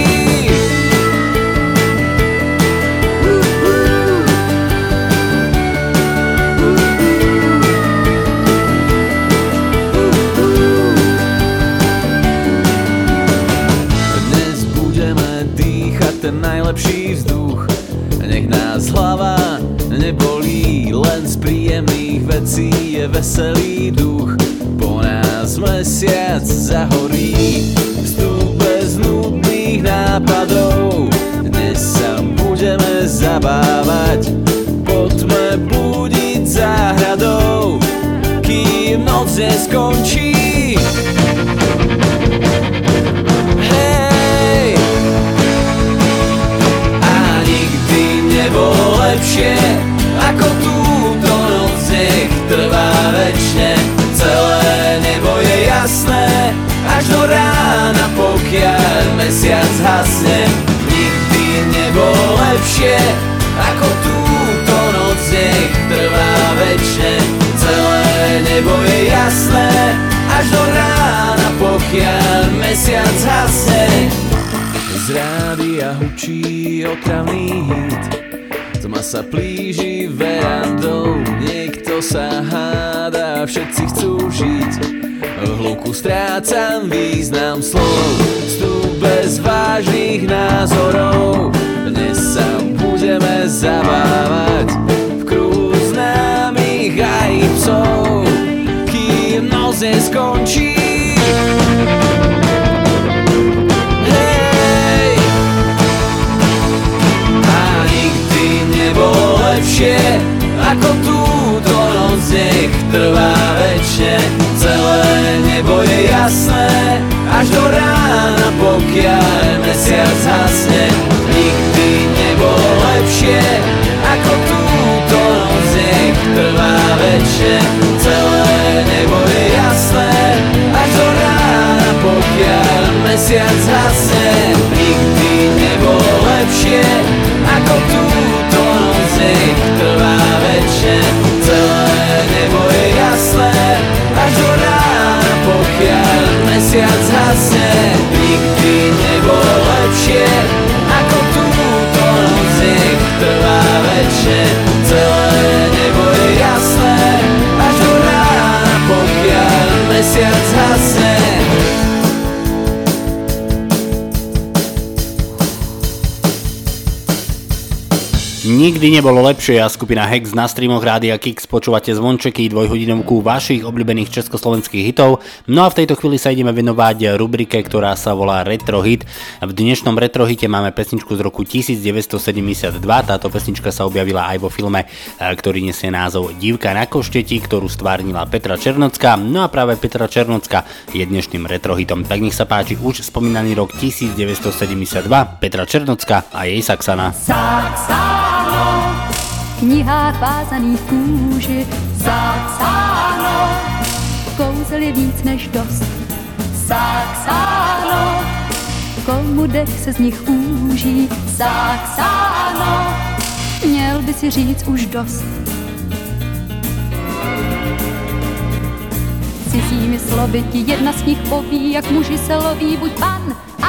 Dnes budeme dýchať ten najlepší vzduch, nech nás hlava nebolí, len z príjemných vecí je veselý duch. Po nás mesiac zahorí, vstup bez nudných nápadov. Dnes sa budeme zabávať, poďme budiť záhradou, kým noc neskončí. Hej! A nikdy nebolo lepšie ako túto noc, nech trvá večne. Celé nebo je jasné až do rána, pokiaľ mesiac hasne. Nikdy nebolo lepšie ako túto noc, nech trvá večne. Celé nebo je jasné až do rána, pokiaľ mesiac hasne. Z rádia hučí otravný hit, tma sa plíži verandou, niekto sa háda, všetci chcú žiť. V hluku strácam význam slov, vstup bez vážnych názorov. Dnes sa budeme zabávať v kruhu známych aj psov, kým noc neskončí. Nebolo lepšie ako túto noc, nech trvá večne. Celé nebo je jasné až do rána, pokiaľ mesiac hasne. Nikdy nebolo lepšie ako túto noc, nech trvá večne. Celé nebo je jasné až do rána, pokiaľ mesiac hasne. Nikdy nebolo lepšie ako túto noc, nech trvá večne. Celé nebo je jasné až do rána, pokiaľ mesiac hasne. Nikdy nebolo lepšie ako túto noc, nech trvá večne. Celé nebo je jasné až do rána, pokiaľ mesiac hasne. Nikdy nebolo lepšie a skupina Hex na streamoch Rádia Kix. Počúvate zvončeky, dvojhodinovku vašich obľúbených československých hitov. No a v tejto chvíli sa ideme venovať rubrike, ktorá sa volá Retro Hit. V dnešnom Retro Hite máme pesničku z roku devätnásťsedemdesiatdva. Táto pesnička sa objavila aj vo filme, ktorý nesie názov Dívka na košteti, ktorú stvárnila Petra Černocká. No a práve Petra Černocká je dnešným Retro Hitom. Tak nech sa páči už spomínaný rok devätnásťsedemdesiatdva, Petra Černocká a jej Saxana. Saxano, v knihách vázaných kůži. Saxano, kouzel je víc než dost. Saxano, komu dech se z nich úží. Saxano, měl by si říct už dost. Cizími slovy ti jedna z nich poví, jak muži se loví, buď pan,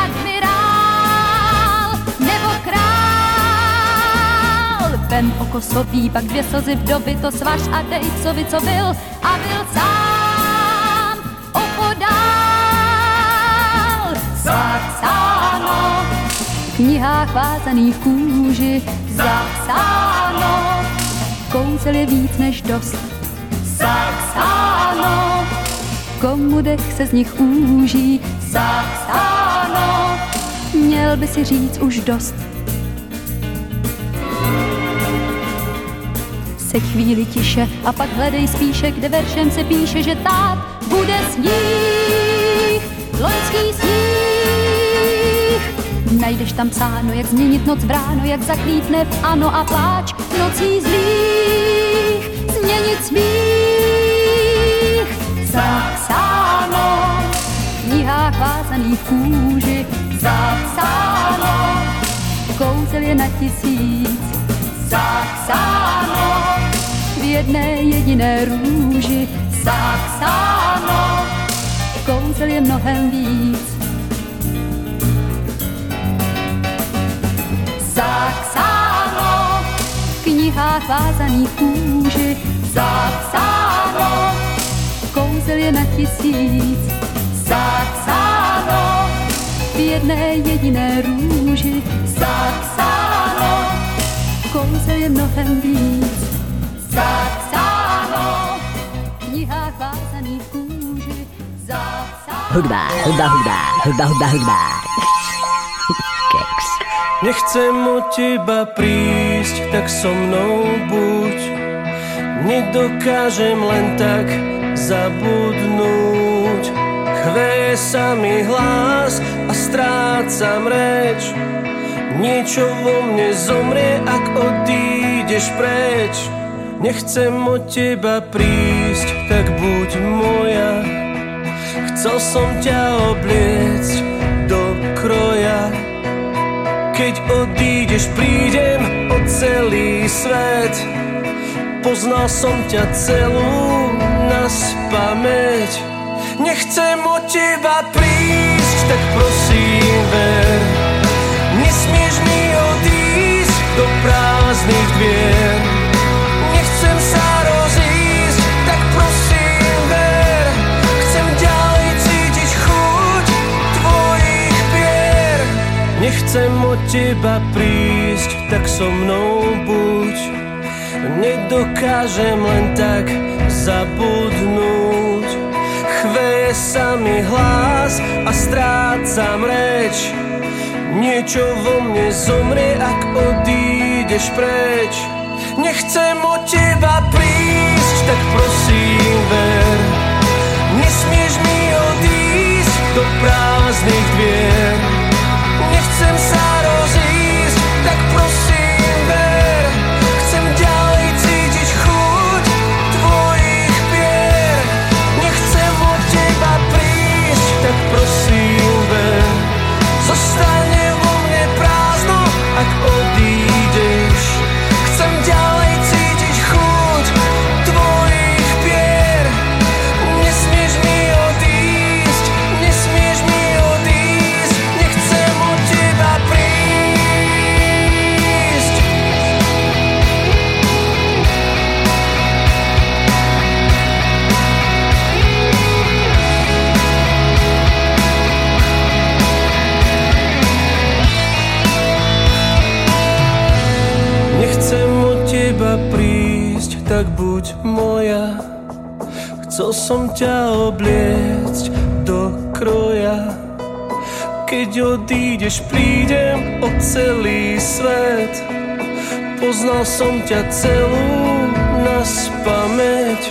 admirál nebo král. Vem oko sobí, pak dvě slzy vdovy, to svaž a dej psovi, co byl a byl sám opodál. Zapsáno v knihách vázaných kůži. Zapsáno, kouzel je víc než dost. Zapsáno, komu dech se z nich úží. Zapsáno, měl by si říct už dost. Se chvíli tiše a pak hledej spíše, kde veršem se píše, že tát bude sníh, loňský sníh. Najdeš tam psáno, jak změnit noc v ráno, jak zaklítne v ano a pláč nocí zlých, změnit smích. Zapsáno v knihách vázaných kůži. Zapsáno, kouzel je na tisíc. Zapsáno v jedné jediné růži. Zapsáno, kouzel je mnohem víc. vázaný kůži. Zapsáno, kouzel je na tisíc. Zapsáno, v jedné jediné růži. Zapsáno, kouzel je mnohem víc. Zapsáno, v knihách vázaných kůži. Zapsáno. Hudba, hudba, hudba, hudba, hudba, hudba. Keks. Nechcem od teba prísť, tak so mnou buď. Nedokážem len tak zabudnúť. Chveje sa mi hlas a strácam reč. Niečo vo mne zomrie, ak odídeš preč. Nechcem od teba prísť, tak buď moja. Chcel som ťa obliecť do kroja. Keď odídeš, prídem o celý svet. Poznal som ťa celú naspamäť. Nechcem od teba prísť, tak prosím ver. Nesmieš mi odísť do prázdnych dvier. Nechcem sa rozísť, tak prosím ver. Chcem ďalej cítiť chuť tvojich pier. Nechcem od teba prísť, tak so mnou buď. Nedokážem len tak zabudnúť. Chveje sa mi hlas a strácam reč. Niečo vo mne zomrie, ak odídeš preč. Nechcem od teba prísť, tak prosím ver. Nesmieš mi odísť do prázdnych dvier. Nechcem sa rozísť, tak prosím ver. Chcem ďalej cítiť chuť tvojich pier. Nechcem od teba prísť, tak prosím ver. Zostane vo mne prázdno, ak odídeš. Chcem ďalej cítiť chuť tvojich pier. Nesmieš mi odísť, nesmieš mi odísť. Nechcem od teba prísť. Nechcem od teba prísť, tak buď moja. Chcel som ťa obliecť do kroja. Keď odídeš, prídem o celý svet. Poznal som ťa celú naspamäť.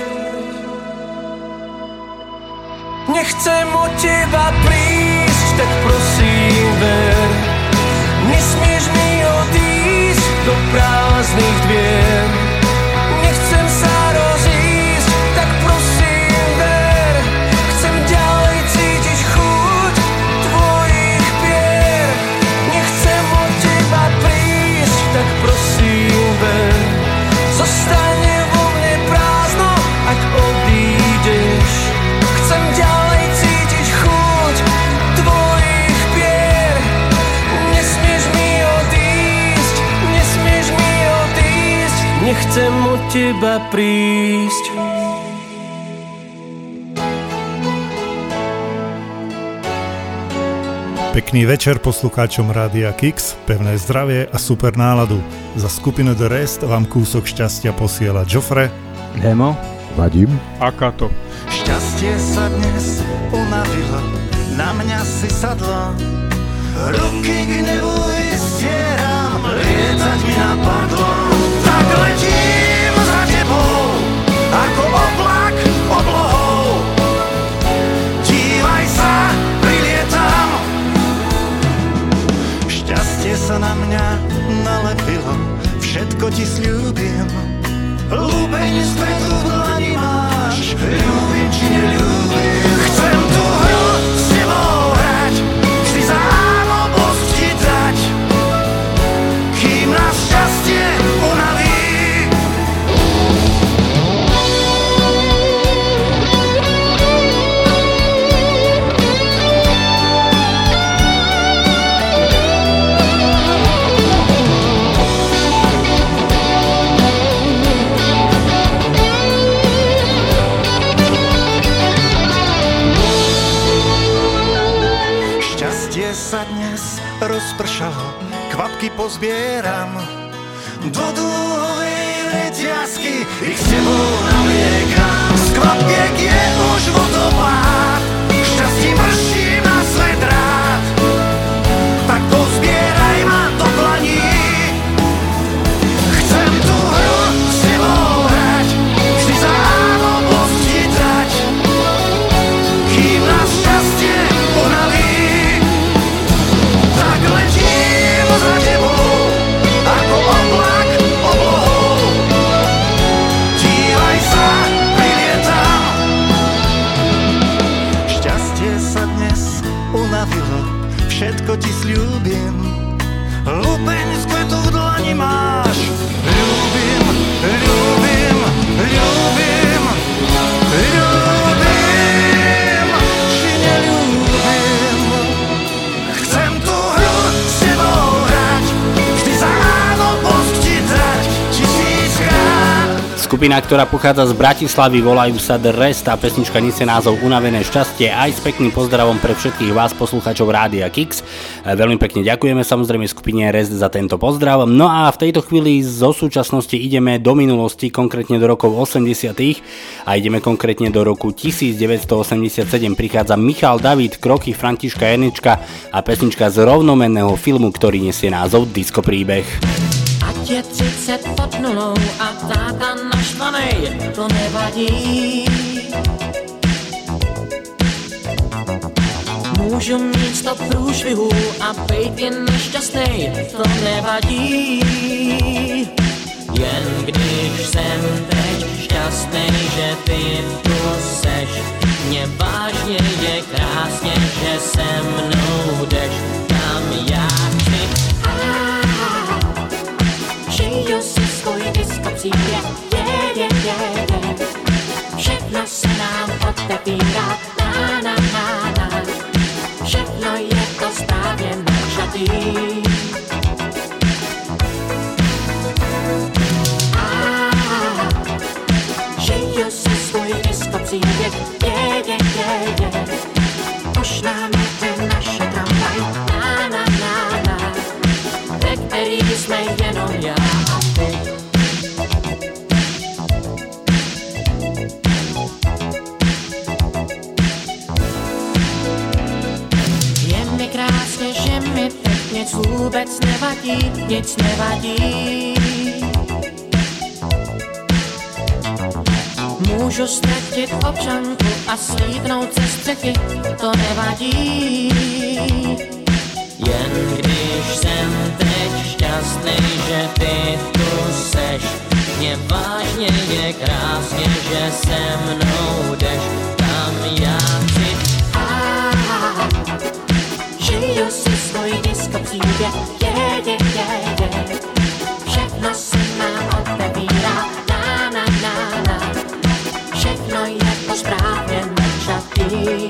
Nechcem od teba prísť, tak prosím ver. Nesmieš mi odísť do prázdnych dvier. Nechcem sa rozísť, tak prosím ver. Chcem ďalej cítiť chuť tvojich pier. Nechcem od teba prísť, tak prosím ver. Zostane vo mne prázdno, ak odídeš. Chcem ďalej cítiť chuť tvojich pier. Nesmieš mi odísť, nesmieš mi odísť. Nechcem od teba prísť. Pekný večer poslucháčom Rádia Kix, pevné zdravie a super náladu. Za skupinu The Rest vám kúsok šťastia posiela Joffre, Demo, Vadim a Kato. Šťastie sa dnes unavilo, na mňa si sadlo. Ruky k nebu vystieram, lietať mi napadlo. Tak letím za tebou, ako oblak oblohou. Dívaj sa, prilietam. Šťastie sa na mňa nalepilo, všetko ti sľúbim. Lúbeň z kvetu v dlani máš, ľúbim či neľúbim. Chcem tú hru s tebou hrať, vždy zámobosť ti dať, kým nás šťastie unaví. sa dnes rozpršalo, kvapky pozbieram do dúhovej reťazky, ich s tebou naliekam. Z kvapiek je už vodopád, šťastí mrští na svet rád, tak pozbieraj ma do dlaní. Chcem tú hru s tebou hrať, vždy za áno posti dať, kým nás šťastie ponaví. Tak letím za tebou, ako oblak oblohou. Dívaj sa, prilietam. Šťastie sa dnes unavilo, všetko ti sľúbim. Lupeň z kvetu v dlani máš. Ľúbim, ľúbim, ľúbim, ľúbim, či neľúbim. Chcem tú hru s tebou hrať, vždy za áno post ti dať tisíckrát. Skupina, ktorá pochádza z Bratislavy, volajú sa The Rest a pesnička nesie názov Unavené šťastie, aj s pekným pozdravom pre všetkých vás poslucháčov Rádia Kix. Veľmi pekne ďakujeme samozrejme skupine Rest za tento pozdrav. No a v tejto chvíli zo súčasnosti ideme do minulosti, konkrétne do rokov osemdesiatych a ideme konkrétne do roku devätnásťstoosemdesiatsedem. Prichádza Michal David, Kroky Františka Janečka a pesnička z rovnomenného filmu, ktorý nesie názov Disco príbeh. Ať je třicet pod nulou a táta naštvanej, to nevadí. Můžu mít sto průšvihů a bejt jen nešťastnej, to nevadí. Jen když jsem teď šťastnej, že ty tu seš, mě vážně je krásně, že se mnou jdeš, kam já chci. Žiju si svůj disco příběh, je, je, je, je. Všechno se nám otevírá, na, na, na, na. Všechno je to správně načatý. Žiju si svůj disco příběh, je, je, je, je. Už nám jde naše tramvaj, na, na, na, na. Ve který jsme jenom já a ty. Je mi krásně, že mi teď nic vůbec nevadí, nic nevadí. Můžu ztratit občanku a slídnout ze střechy, to nevadí. Jen když jsem teď šťastný, že ty tu seš, mě vážně je krásně, že se mnou jdeš, tam já chci. Žiju si svůj disco příběh, je, je, je, je. Všechno se nám otevírá, na, na, na, na. Všechno je to správně načatý.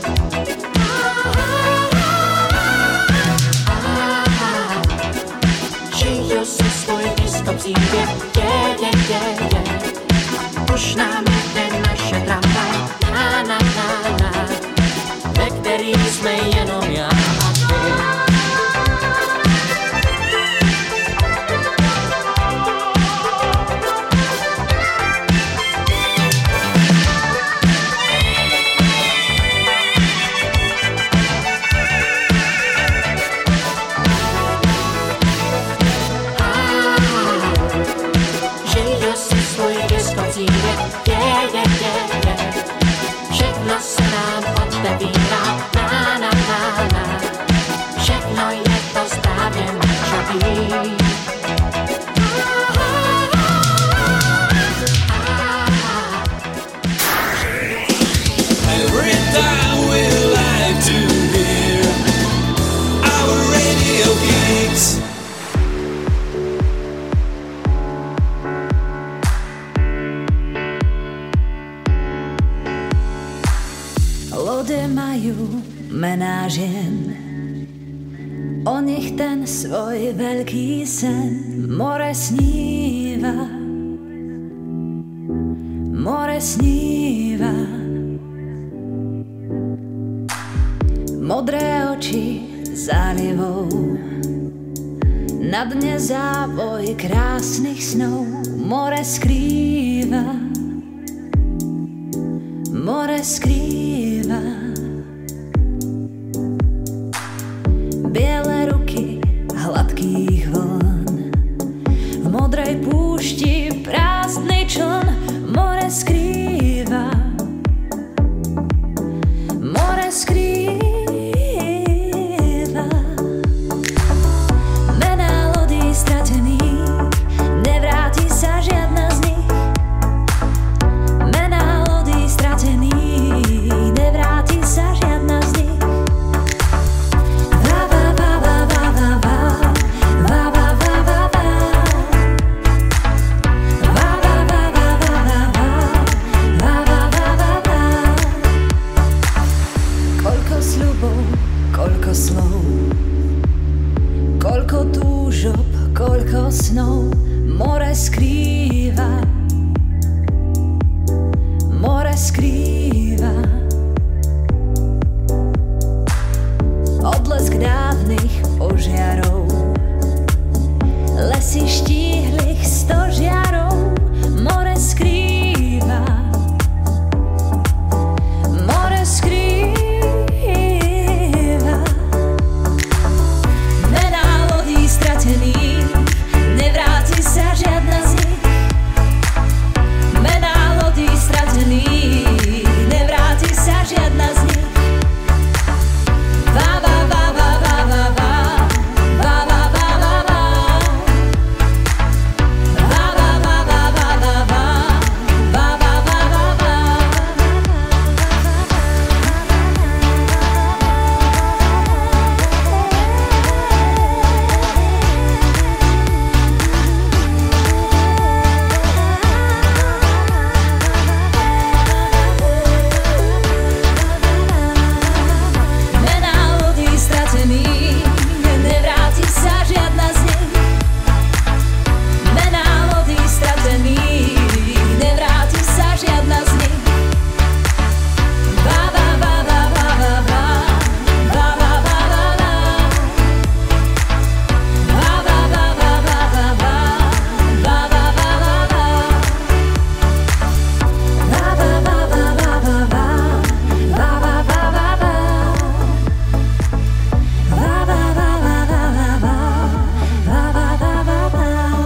Žiju si svůj disco příběh, je, je, je, je. Už nám jde naše tramvaj, na, na, na, na. Ve který jsme jenom já a ty. Žiju si svůj disco příběh, je, je, je, je. Všechno se nám otevírá, na, na, na, na. Všechno je to správně načatý. Every time we like to hear our radio gigs. Lode majú mená žien, o nich ten svoj veľký sen. More sníva, more sníva. Modré oči zálivou. Na dne závoj krásnych snov more skrýva, more skrýva. Biele ruky hladkých vln, v modrej púšti prázdnej čln more skrýva, more skrýva. Mená lodí stratených, nevráti sa žiadna z nich. Mená lodí stratených, nevráti sa žiadna z nich. Va, va, va, va, va, va, va. Va, va, va, va, va. Va, va, va, va, va, va, va. Va, va, va, va, va. Koľko sľubov, koľko slov, koľko túžob, koľko snov more skrýva, more skrýva. Odlesk dávnych požiarov, lesy štíhlych stožiarov more skrýva, more skrýva. Mená lodí stratených, nevráti sa žiadna z nich. Mená lodí stratených, nevráti sa žiadna z nich. Va, va, va, va, va, va, va. Va, va, va, va, va. Va, va, va, va, va, va, va. Va, va, va, va, va. Mená lodí stratených, nevráti sa žiadna z nich. Mená lodí stratených, nevráti sa žiadna z nich. Va, va, va, va, va, va, va. Va, va, va, va, va. Va, va, va, va, va, va, va. Va, va, va, va, va. Va, va, va, va, va, va, va. Va, va, va, va, va. Va, va, va, va, va. Va, va, va, va, va.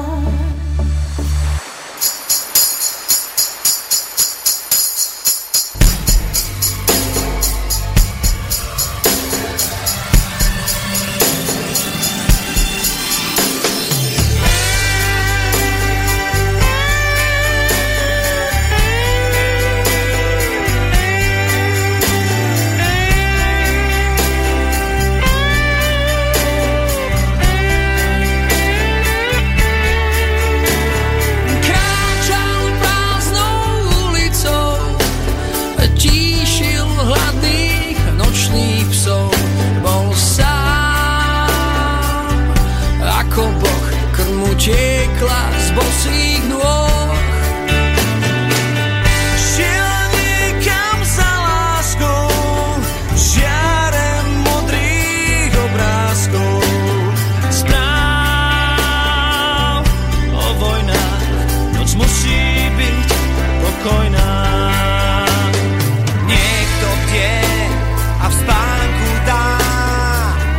Kráčal prázdnou ulicou, tíšil hladných nočných psov. Bol sám, ako boh, krv mu tiekla z bosých nôh. Šiel niekam za láskou, žiarem modrých obrázkov. Správ o vojnách, noc musí byť pokojná. Niekto bdie a v spánku dá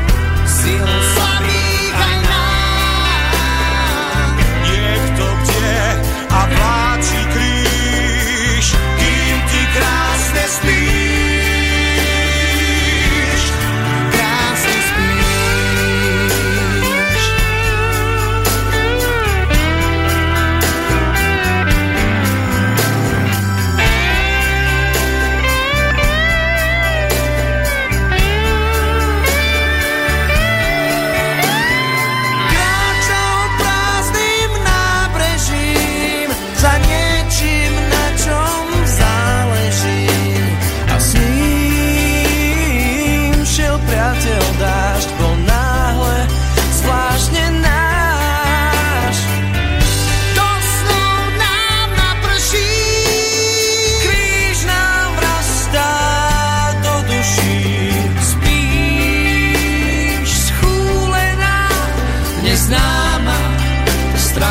silu slabých aj nám. Niekto bdie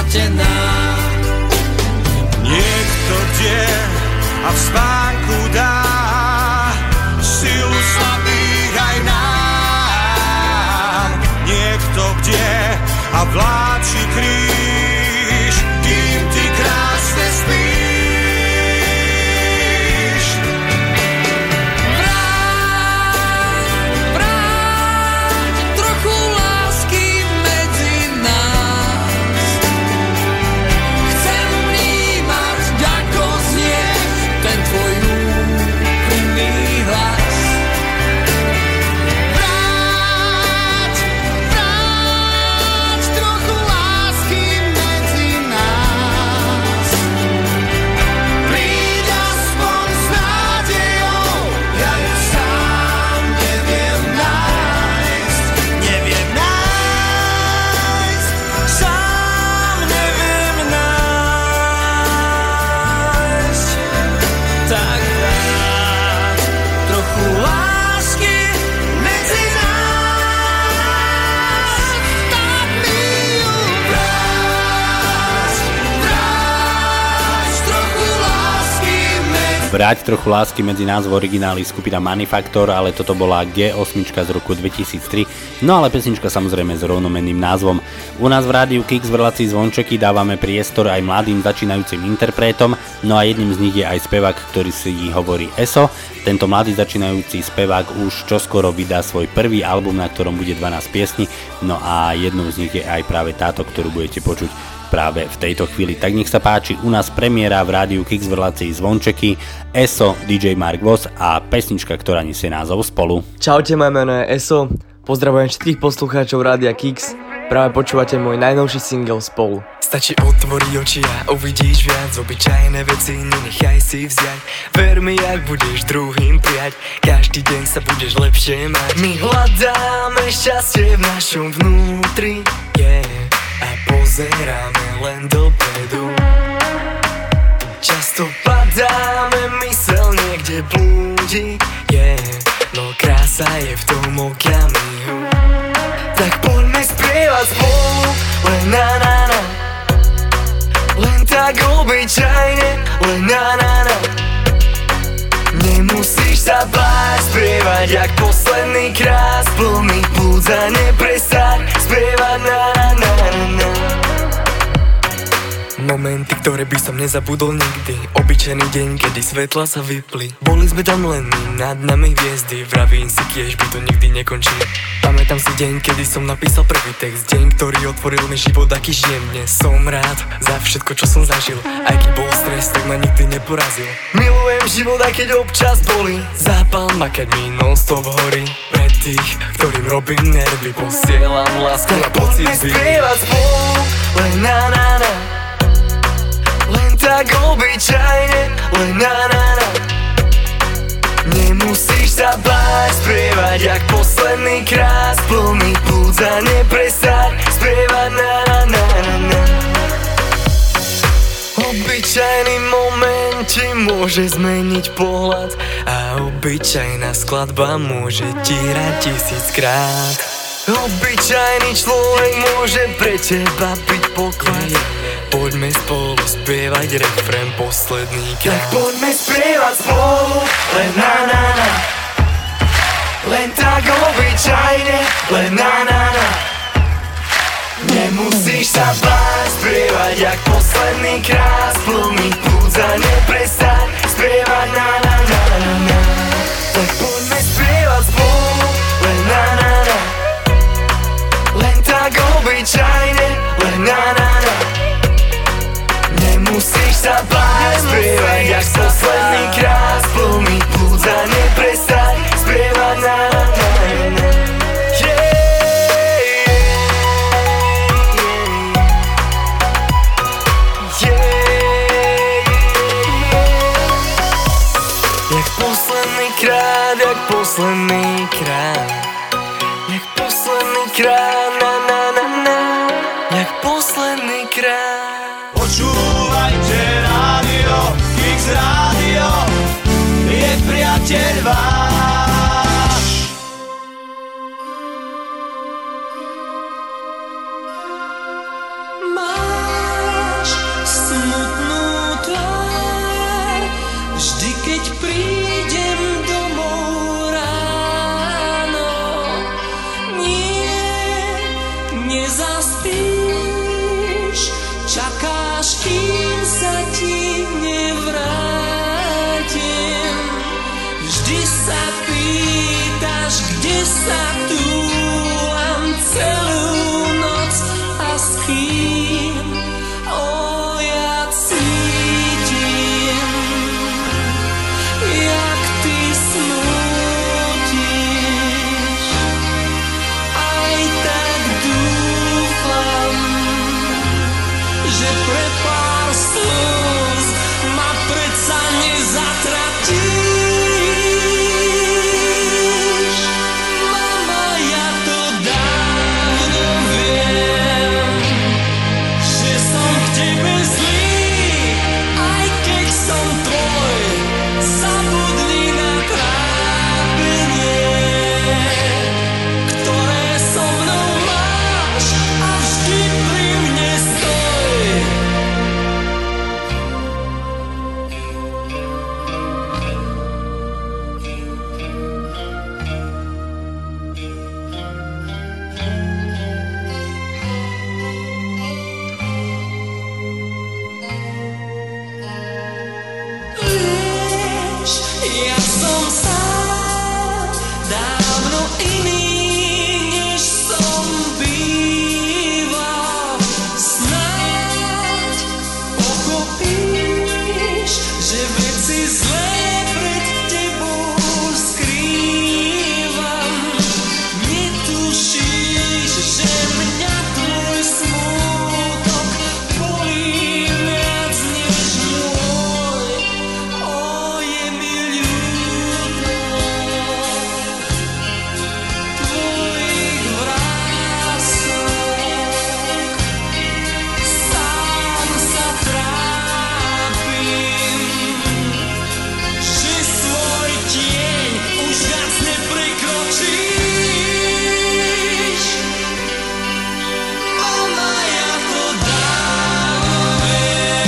stratená. Niekto kde a v spánku dá silu slabých aj nám. Niekto kde a vláči kríž, kým ty krásne spíš. Vráť, vráť trochu lásky medzi nás. Chcem vnímať, ako znie ten tvoj úprimný hlas. Vráť, vráť trochu lásky medzi nás. Príď aspoň s nádejou, ja ju sám neviem nájsť. Neviem nájsť, sám neviem nájsť. Tak vráť trochu lásky medzi nás. Tak mi ju vráť, vráť trochu lásky medzi. Vráť trochu lásky medzi nás v origináli skupina Manifaktor, ale toto bola gé osem z roku dvetisíctri, no ale pesnička samozrejme s rovnomenným názvom. U nás v Rádiu Kix v relácii Zvončeky dávame priestor aj mladým začínajúcim interpretom, no a jedným z nich je aj spevák, ktorý si hovorí Eso. Tento mladý začínajúci spevák už čoskoro vydá svoj prvý album, na ktorom bude dvanásť piesní, no a jednou z nich je aj práve táto, ktorú budete počuť práve v tejto chvíli. Tak nech sa páči, u nás premiéra v Rádiu Kix v relácii Zvončeky, Eso, dý džej Mark Voss a pesnička, ktorá nesie názov Spolu. Čaute, moje meno je Eso, pozdravujem všetkých poslucháčov Rádia Kix, práve počúvate môj najnovší single Spolu. Stačí otvoriť oči a uvidíš viac, obyčajné veci nenechaj si vziať. Ver mi, ak budeš druhým prijať, každý deň sa budeš lepšie mať. My hľadáme šťastie v našom vnútri, yeah, a pozeráme len dopredu. Často padáme, mysel niekde blúdi, yeah, no krása je v tom okamihu. Tak poďme spievať spolu, len na na na. Len tak obyčajne, len na na na. Nemusíš sa báť spievať jak posledný krát. Plný plúdza neprestaň spievať na na na na. Momenty, ktoré by som nezabudol nikdy. Obyčajný deň, kedy svetla sa vypli. Boli sme tam len my, nad nami hviezdy. Vravím si, kiež by to nikdy nekončilo. Pamätám si deň, kedy som napísal prvý text. Deň, ktorý otvoril mi život, aký žijem dnes. Som rád za všetko, čo som zažil. Aj keď bol stres, tak ma nikdy neporazil. Milujem život, aj keď občas bolí. Zápal ma, keď mi non-stop horí. Pre tých, ktorým robím nervy, posielam lásku a pocit. Poďme spievať spolu, len na na na. Len tak obyčajne, len na na na. Nemusíš sa báť spievať jak posledný krát. Plný plúdza neprestaň spievať na na na na na. Obyčajný moment ti môže zmeniť pohľad a obyčajná skladba môže ti hrať tisíckrát. Obyčajný človek môže pre teba byť poklad. Poďme spolu spievať refrén posledný krát. Tak poďme spievať spolu, len na na na. Len tak obyčajne, len na na na. Nemusíš sa báť spievať jak posledný krát. Plný plúdza neprestaň spievať na na na na na. Tak poďme spievať spolu, len na na na. Len tak obyčajne, len na na na. Nemusíš sa báť spievať jak posledný krát. Plný plúdza neprestaň spievať na na na na. Jak posledný krát, jak posledný krát. Jak posledný krát, na na na na. Jak posledný krát. Počúvajte rádio, Kix rádio, je priateľ váš. Máš sa túlam celú noc a s kým o ja cítim, jak ty smútiš. Aj tak dúfam, že pre pár slz ma predsa nezatratíš. Mama, ja to dávno viem, že som k tebe zlý, aj keď som tvoj. Zabudni na trápenie, ktoré so mnou máš, a vždy pri mne stoj. Vieš, ja som sám dávno iný, než som býval. Snáď pochopíš, že veci zlé pred tebou skrývam. Netušíš, že mňa tvoj smútok bolí viac než môj. O, je mi ľúto tvojich vrások. Sám sa trápim, že svoj tieň už viac neprekročíš. Mama, ja to dávno viem,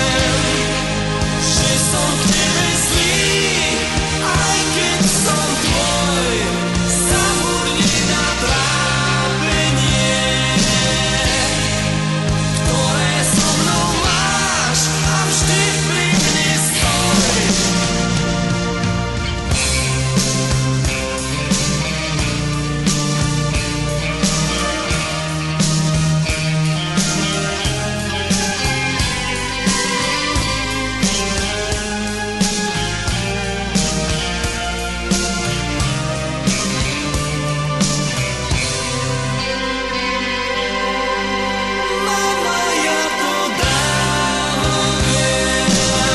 že som k tebe zlý, aj keď som tvoj. Zabudni na trápenie, ktoré so mnou máš, a vždy pri mne stoj. Mama, ja to dávno viem,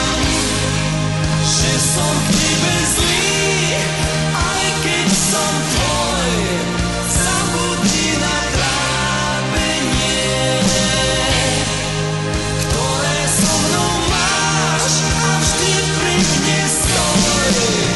že som k tebe zlý, aj keď som tvoj. Zabudni na trápenie, ktoré so mnou máš, a vždy pri mne stoj.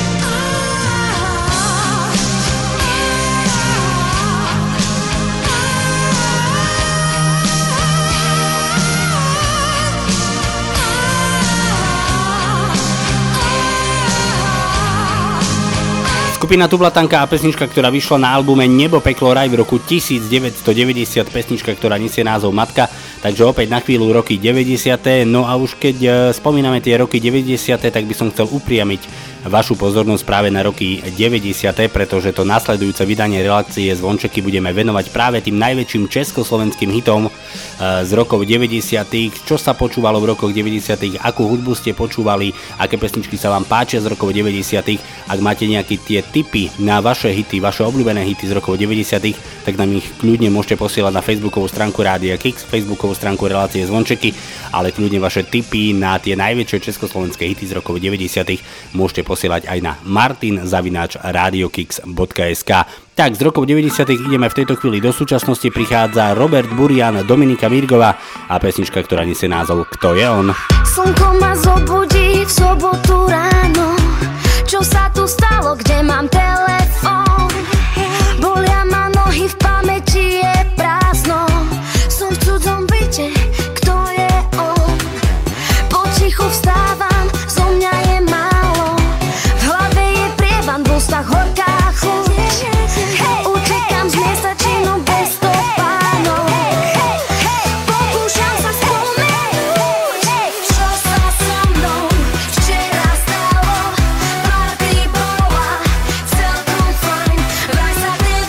Skupina Tublatanka a pesnička, ktorá vyšla na albume Nebo, peklo, raj v roku devätnásťstodeväťdesiat, pesnička, ktorá nesie názov Matka, takže opäť na chvíľu roky deväťdesiate. No a už keď e, spomíname tie roky deväťdesiate, tak by som chcel upriamiť vašu pozornosť práve na roky deväťdesiate, pretože to nasledujúce vydanie relácie Zvončeky budeme venovať práve tým najväčším československým hitom e, z rokov deväťdesiatych. Čo sa počúvalo v rokoch deväťdesiatych, akú hudbu ste počúvali, aké pesničky sa vám páčia z rokov deväťdesiatych. Ak máte nejaké tie tipy na vaše hity, vaše obľúbené hity z rokov deväťdesiatych, tak nám ich kľudne môžete posielať na facebookovú stránku Rádia Kix, facebookovú stránku relácie Zvončeky, ale kľudne vaše tipy na tie najväčšie československé hity z rokov deväťdesiatych môžete posielať aj na martin zavináč radiokix bodka es ká. Tak, z rokov deväťdesiatych ideme v tejto chvíli do súčasnosti. Prichádza Robert Burian, Dominika Mirgová a pesnička, ktorá nesie názov Kto je on? Slnko ma zobudí v sobotu ráno. Čo sa tu stalo, kde mám telefón? Bolia ma nohy, v pamäti je prázdno. Som v cudzom byte, kto je on? Potichu vstávam, zo mňa je málo. V hlave je prievan, v ústach horká chuť. Utekám z miesta činu bez stopánov. Pokúšam sa spomenúť, čo sa so mnou včera stalo. Party bola celkom fajn, vraj sa ten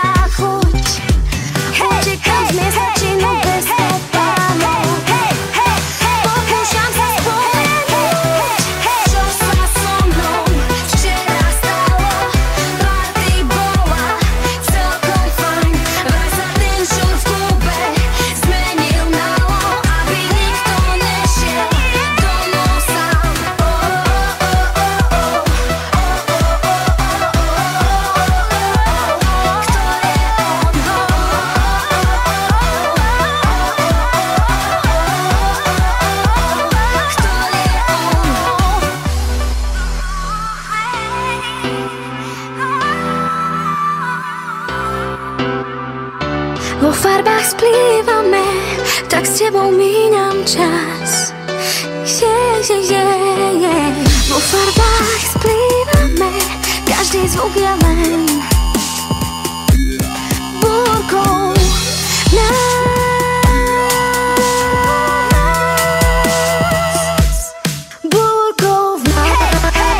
taká chuť. Utekám z miesta činu bez stopánu. Pokúšam sa spomenúť, čo sa so mnou včera stalo. Party bola celkom fajn, vraj sa ten šur v klube zmenil na lo, aby nikto nešiel domov sám. Oh, oh, oh, oh, oh. Vo farbách splývame, tak s tebou míňam čas. Yeah, yeah, yeah, yeah. Vo farbách splývame, každý zvuk je len búrkou nás. Búrkou v nás.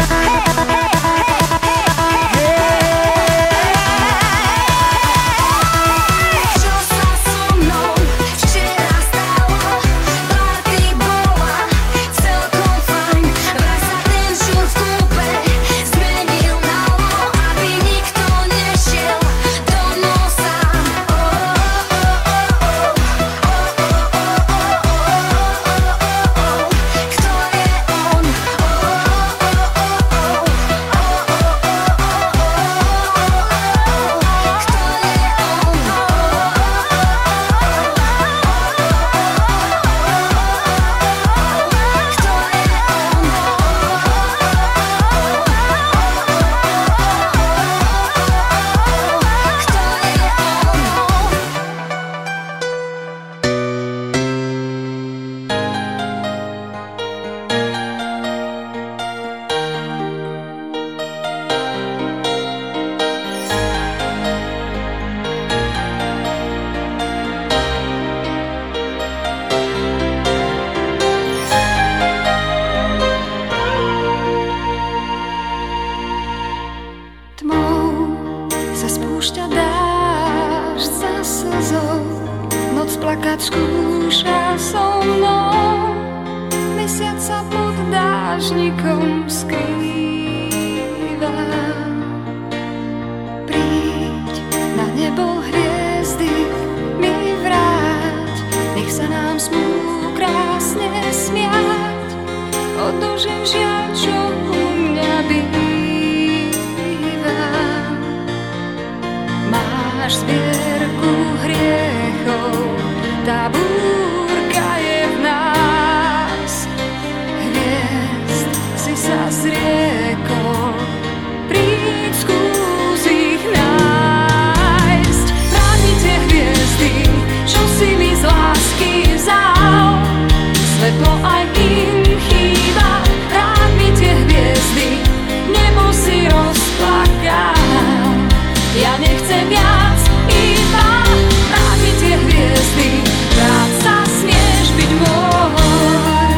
Čo sa so mnou včera stalo? Party bola celkom fajn, vraj sa ten šur v klube zmenil na lo, aby nikto nešiel domov sám. Oh, oh, oh, oh, oh. Kto je on? Tmou sa spúšťa dážď za slzou, noc plakať skúša so mnou, mesiac sa pod dážnikom skrýva. Príď na nebo hviezdy mi vráť, nech sa nám smú krásne smiať, odložím žiaľ, čo u mňa býva. Máš zbierku hriechov, tá búrka je v nás. Hviezd si sa zriekol, príď skús ich nájsť. Vráť mi tie hviezdy, čo si mi z lásky vzal, svetlo aj im chýba. Vráť mi tie hviezdy, nebo si rozplakal. Ja nechcem viac, iba vráť mi tie hviezdy, rád sa smieš byť môj.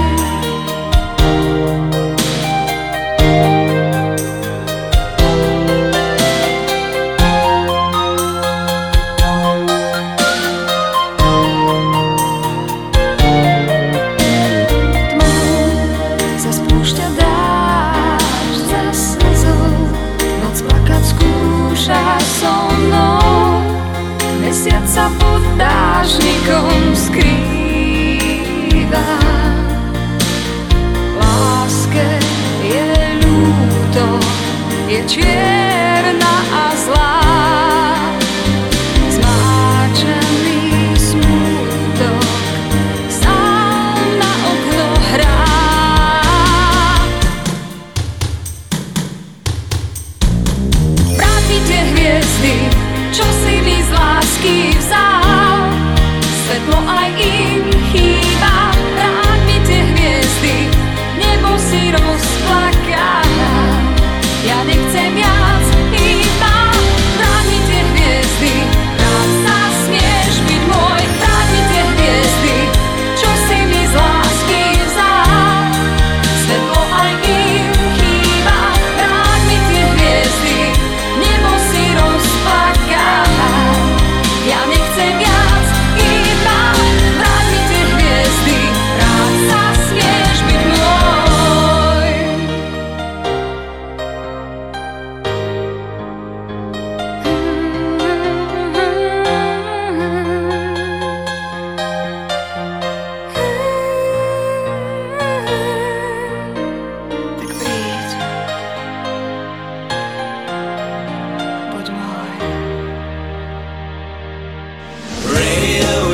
Tmou sa spúšťa dážď za slzou, noc plakať skúša so mnou, mesiac sa pod dážnikom skrýva. Láske je ľúto, je čierna a zlá, zmáčaný smútok sám na okno hrá. Vráť mi tie hviezdy, čo si mi z lásky vzal, svetlo aj im chýba. Vráť mi tie hviezdy, nebo si rozplakal. Ja nechcem viac,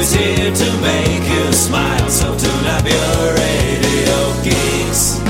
is here to make you smile, so tune up your radio geeks.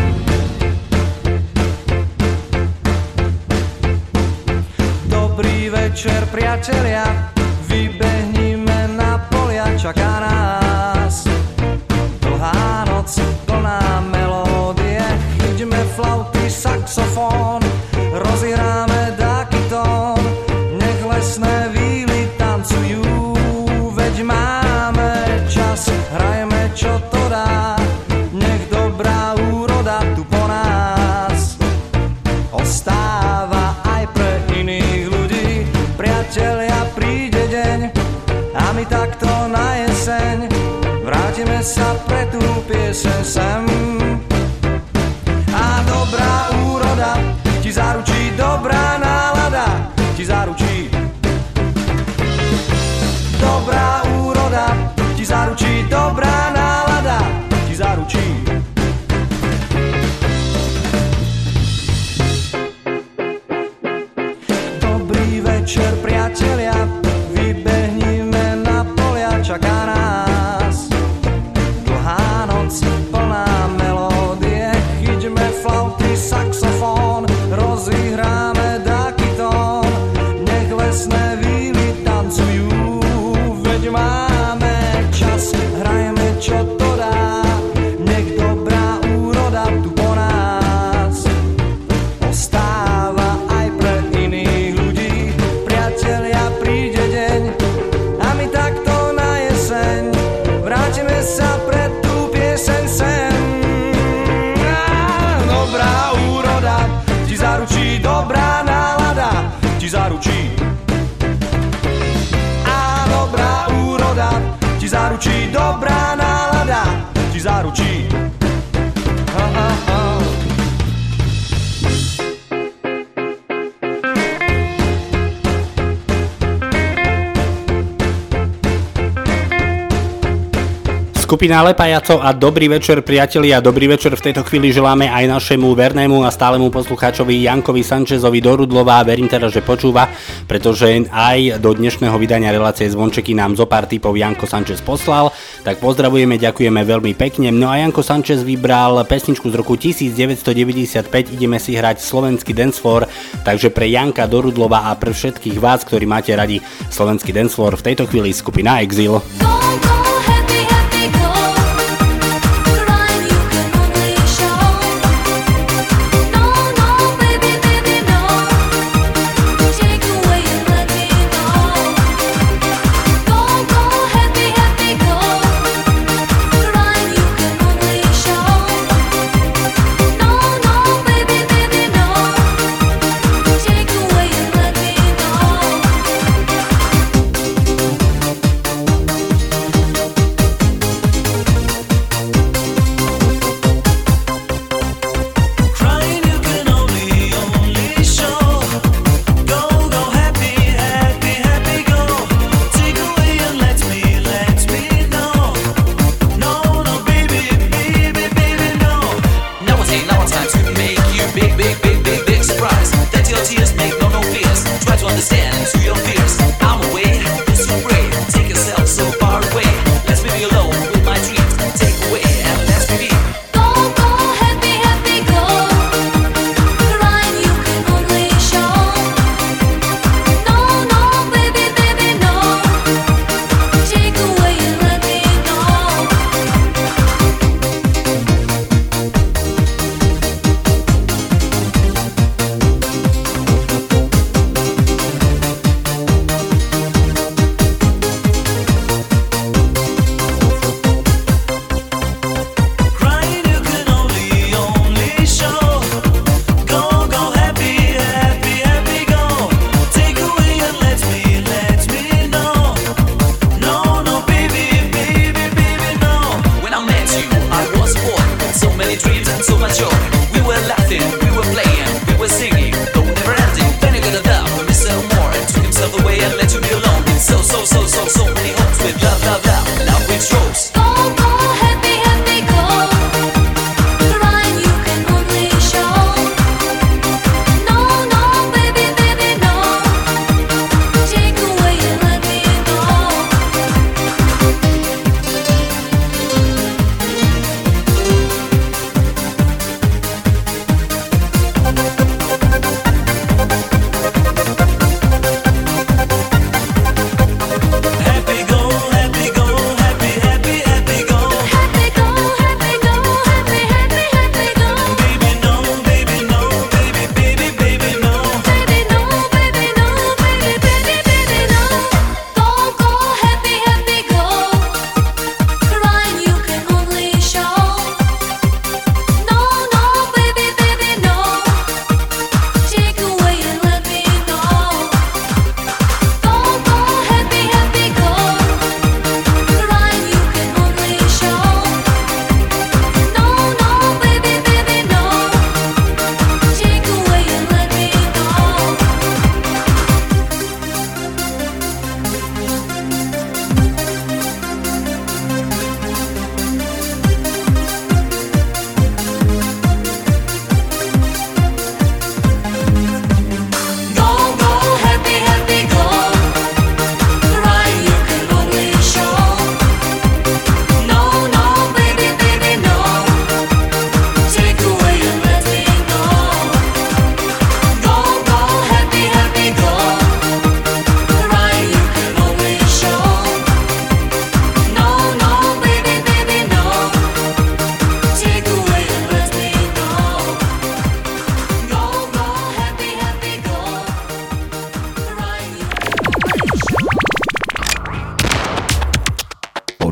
Dobrý večer, priatelia, vybehnime na polia, čaká nás dlhá noc, plná melódie, chyťme flauty, saxofón, rozihráme dáky tón, nech lesné víly tancujú, veď máme čas, hrajeme čo to dá, nech dobrá úroda tu po nás ostáva aj pre iných ľudí. Priatelia, príde deň a my takto na jeseň vrátime sa pre tú pieseň sem. A dobrá úroda ti zaručí, dobrá nálada ti zaručí. Dobrá úroda ti zaručí, dobrá nálada ti zaručí. Dobrý večer, priatelia, vybehnime na polia, čaká nás dlhá noc, plná melódie, chyťme flauty, saxofón, rozihráme dáky tón, nech lesné víly tancujú, veď máme čas, hrajeme čo to dá, nech dobrá úroda tu po nás ostáva aj pre iných ľudí. Priatelia, príde deň a my takto na jeseň vrátime sa pre tú pieseň sem. Á, dobrá úroda ti zaručí, dobrá nálada ti zaručí. A dobrá úroda ti zaručí, dobrá nálada ti zaručí. Ha, ha, ha. Skupina Lepajaco a dobrý večer, priatelia, dobrý večer v tejto chvíli želáme aj našemu vernému a stálemu poslucháčovi Jankovi Sanchezovi do Rudlova. Verím teda, že počúva, pretože aj do dnešného vydania relácie Zvončeky nám zo pár tipov Janko Sanchez poslal. Tak pozdravujeme, ďakujeme veľmi pekne. No a Janko Sanchez vybral pesničku z roku devätnásťstodeväťdesiatpäť, ideme si hrať slovenský dancefloor, takže pre Janka do Rudlova a pre všetkých vás, ktorí máte radi slovenský dancefloor, v tejto chvíli skupina Exil.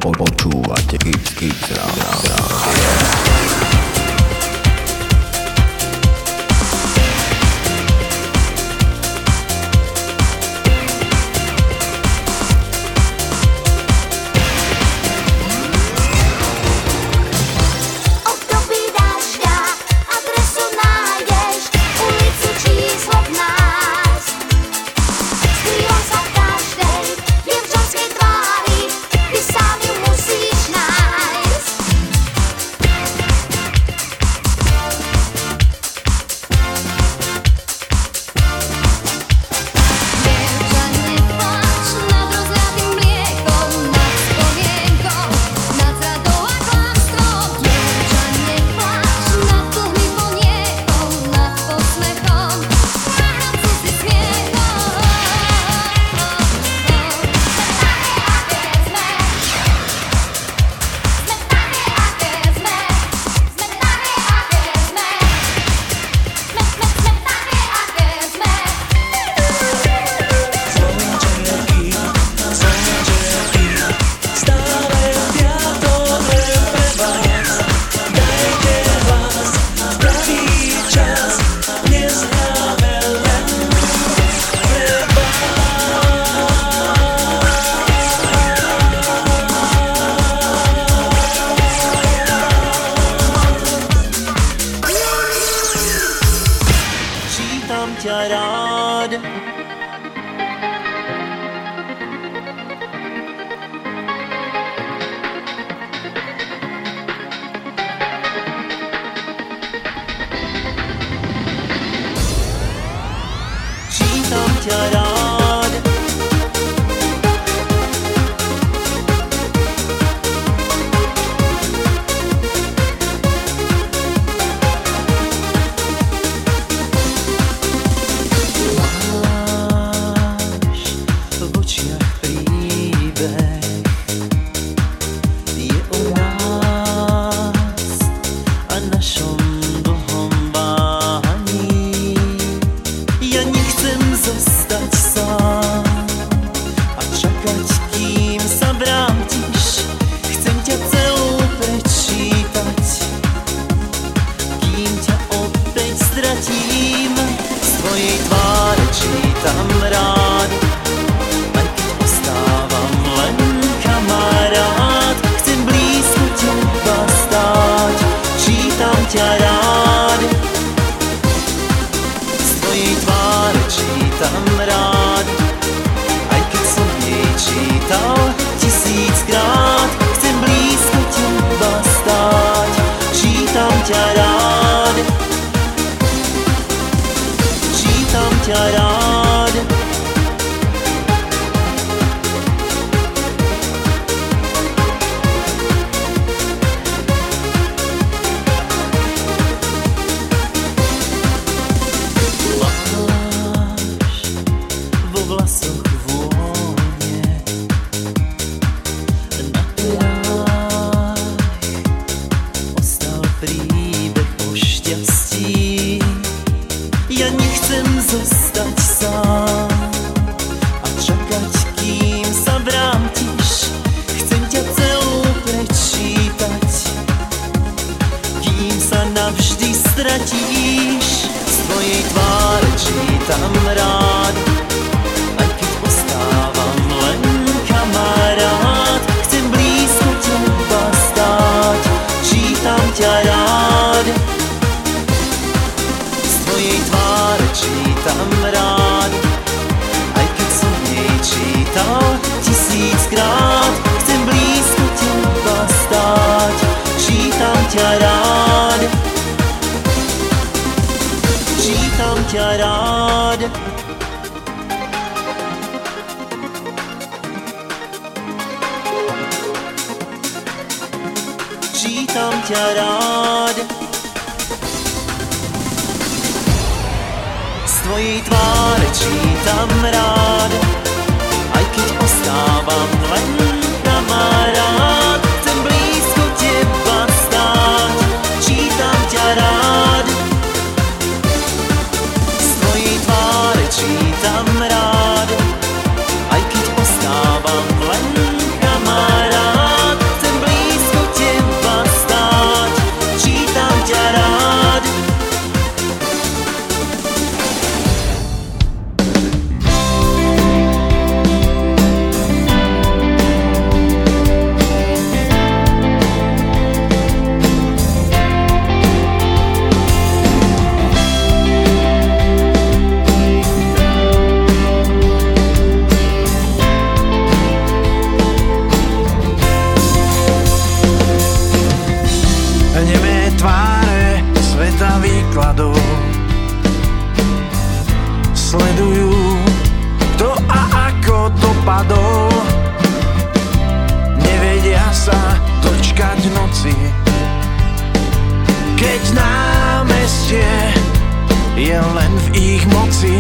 Počúvate Kix Kix Rádio. Čítam rád, aj keď ostávam len kamarát. padol. Nevedia sa dočkať noci, keď námestie je len v ich moci.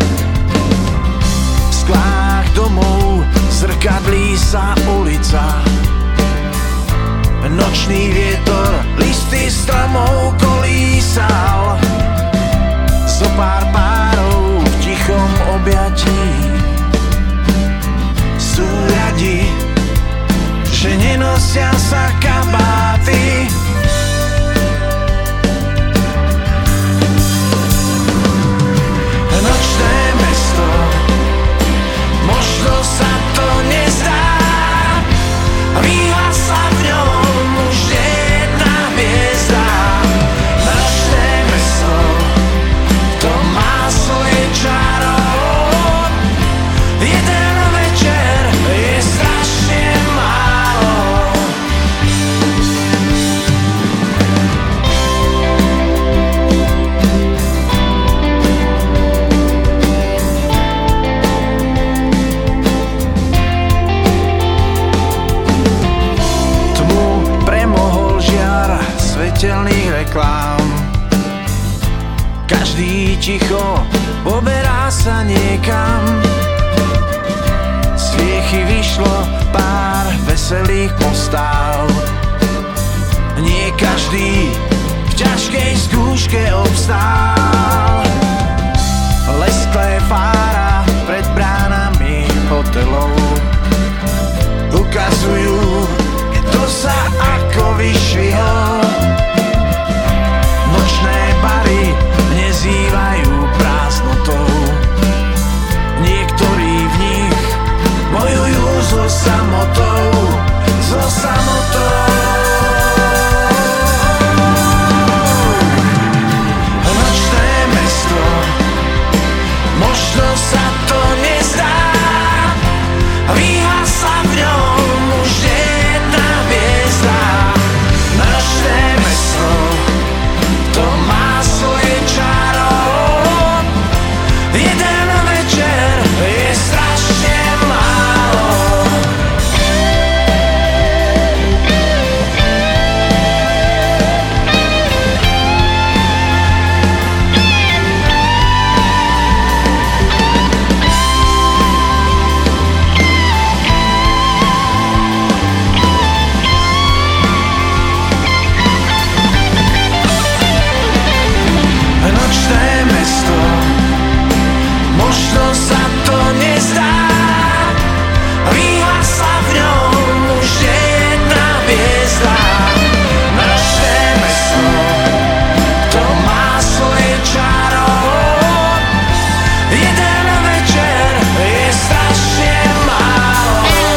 V sklách domov zrkadlí sa ulica, nočný vietor listy stromov kolísal. Zo pár párov v tichom objatí sú radi, že nenosia sa kabáty. Nočné mesto, možno sa to nezdá, vyhasla v ňom už jedna hviezda. Nočné mesto, to má svoje čaro. Jeden večer je strašne málo. Tmu premohol žiar svetelných reklám. Každý ticho poberá sa niekam. Z viechy vyšlo pár veselých postáv. Nie každý v ťažkej skúške obstál. Lesklé fára pred bránami hotelov ukazujú, kto sa ako vyšvihol. Nočné bary nezývajú prázdnotou. Niektorí v nich bojujú so samotou, so samotou. Nočné mesto, možno sa to nezdá, vyhasla v ňom už jedna hviezda. Nočné mesto, to má svoje čaro. Jeden večer je strašne málo. Nočné mesto, možno sa to nezdá, vyhasla v ňom už jedna hviezda. Nočné mesto, to má svoje čaro. Jeden večer je strašne málo.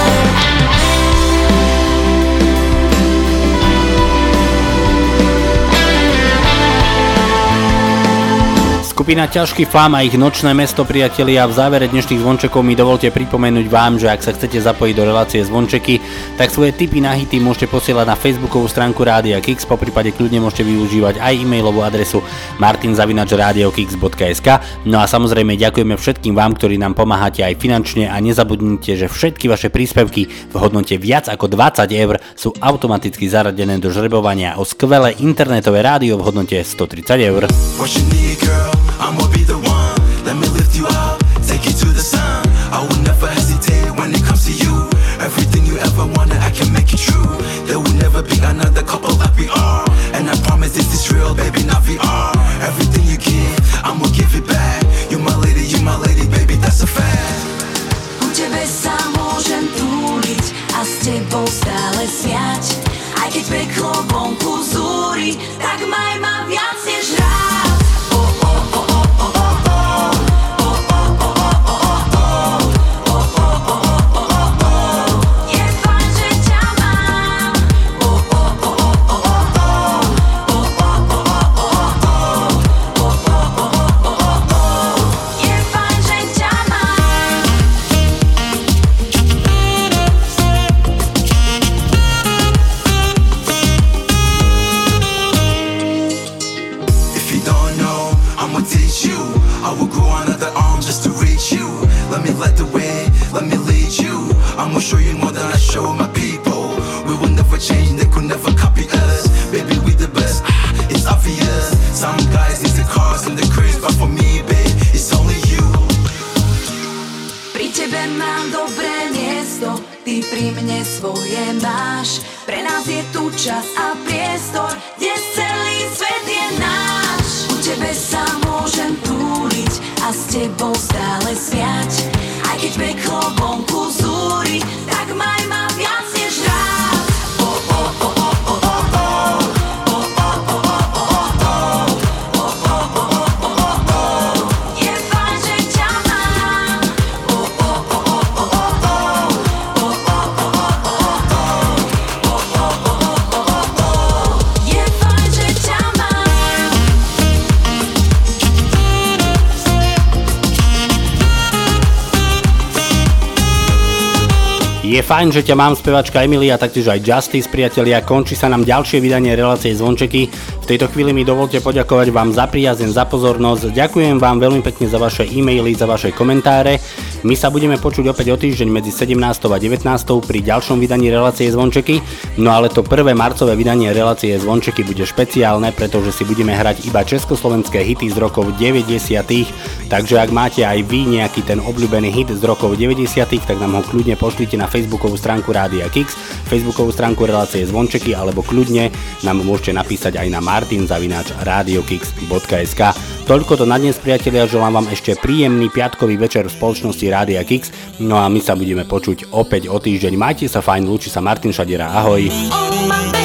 Skupina Ťažký Flam a ich Nočné mesto, priatelia. V závere dnešných zvončekov mi dovolte pripomenúť vám, že ak sa chcete zapojiť do relácie zvončeky, tak svoje tipy na hity môžete posielať na facebookovú stránku Rádia Kix, poprípade kľudne môžete využívať aj e-mailovú adresu martin zavináč rádio kix bodka es ká. No a samozrejme ďakujeme všetkým vám, ktorí nám pomáhate aj finančne, a nezabudnite, že všetky vaše príspevky v hodnote viac ako dvadsať eur sú automaticky zaradené do žrebovania o skvelé internetové rádio v hodnote stotridsať eur. I'ma be the one, let me lift you up, take you to the sun. I will never hesitate when it comes to you. Everything you ever wanted, I can make it true. There will never be another couple like we are. And I promise this is real, baby, not V R. Everything you give, I'ma give it back. You my lady, you my lady, baby, that's a fact. U tebe sa môžem túliť a s tebou stále smiať. Aj keď peklo vonku zúri, tak maj ma viac než rád. miesto, ty pri mne svoje máš. Pre nás je tu čas a priestor, kde celý svet je náš. U tebe sa môžem túliť a s tebou stále smiať. Aj keď peklo vonku zúri, tak maj ma viac než rád. Oh, oh, oh, oh, oh, oh, oh. Je fajn, že ťa mám, spevačka Emilia, taktiež aj Justice, priatelia. Končí sa nám ďalšie vydanie relácie Zvončeky. V tejto chvíli mi dovolte poďakovať vám za priazeň, za pozornosť. Ďakujem vám veľmi pekne za vaše e-maily, za vaše komentáre. My sa budeme počuť opäť o týždeň medzi sedemnástou a devätnástou pri ďalšom vydaní relácie Zvončeky. No ale to prvé marcové vydanie relácie Zvončeky bude špeciálne, pretože si budeme hrať iba československé hity z rokov deväťdesiatych. Takže ak máte aj vy nejaký ten obľúbený hit z rokov deväťdesiatych, tak nám ho kľudne pošlite na facebookovú stránku Rádia Kix, facebookovú stránku relácie Zvončeky, alebo kľudne nám môžete napísať aj na martin zavináč radiokix bodka es ká. Toľko to na dnes, priatelia, želám vám ešte príjemný piatkový večer v spoločnosti Rádia Kix, no a my sa budeme počuť opäť o týždeň. Majte sa fajn, lúči sa Martin Šadera, ahoj.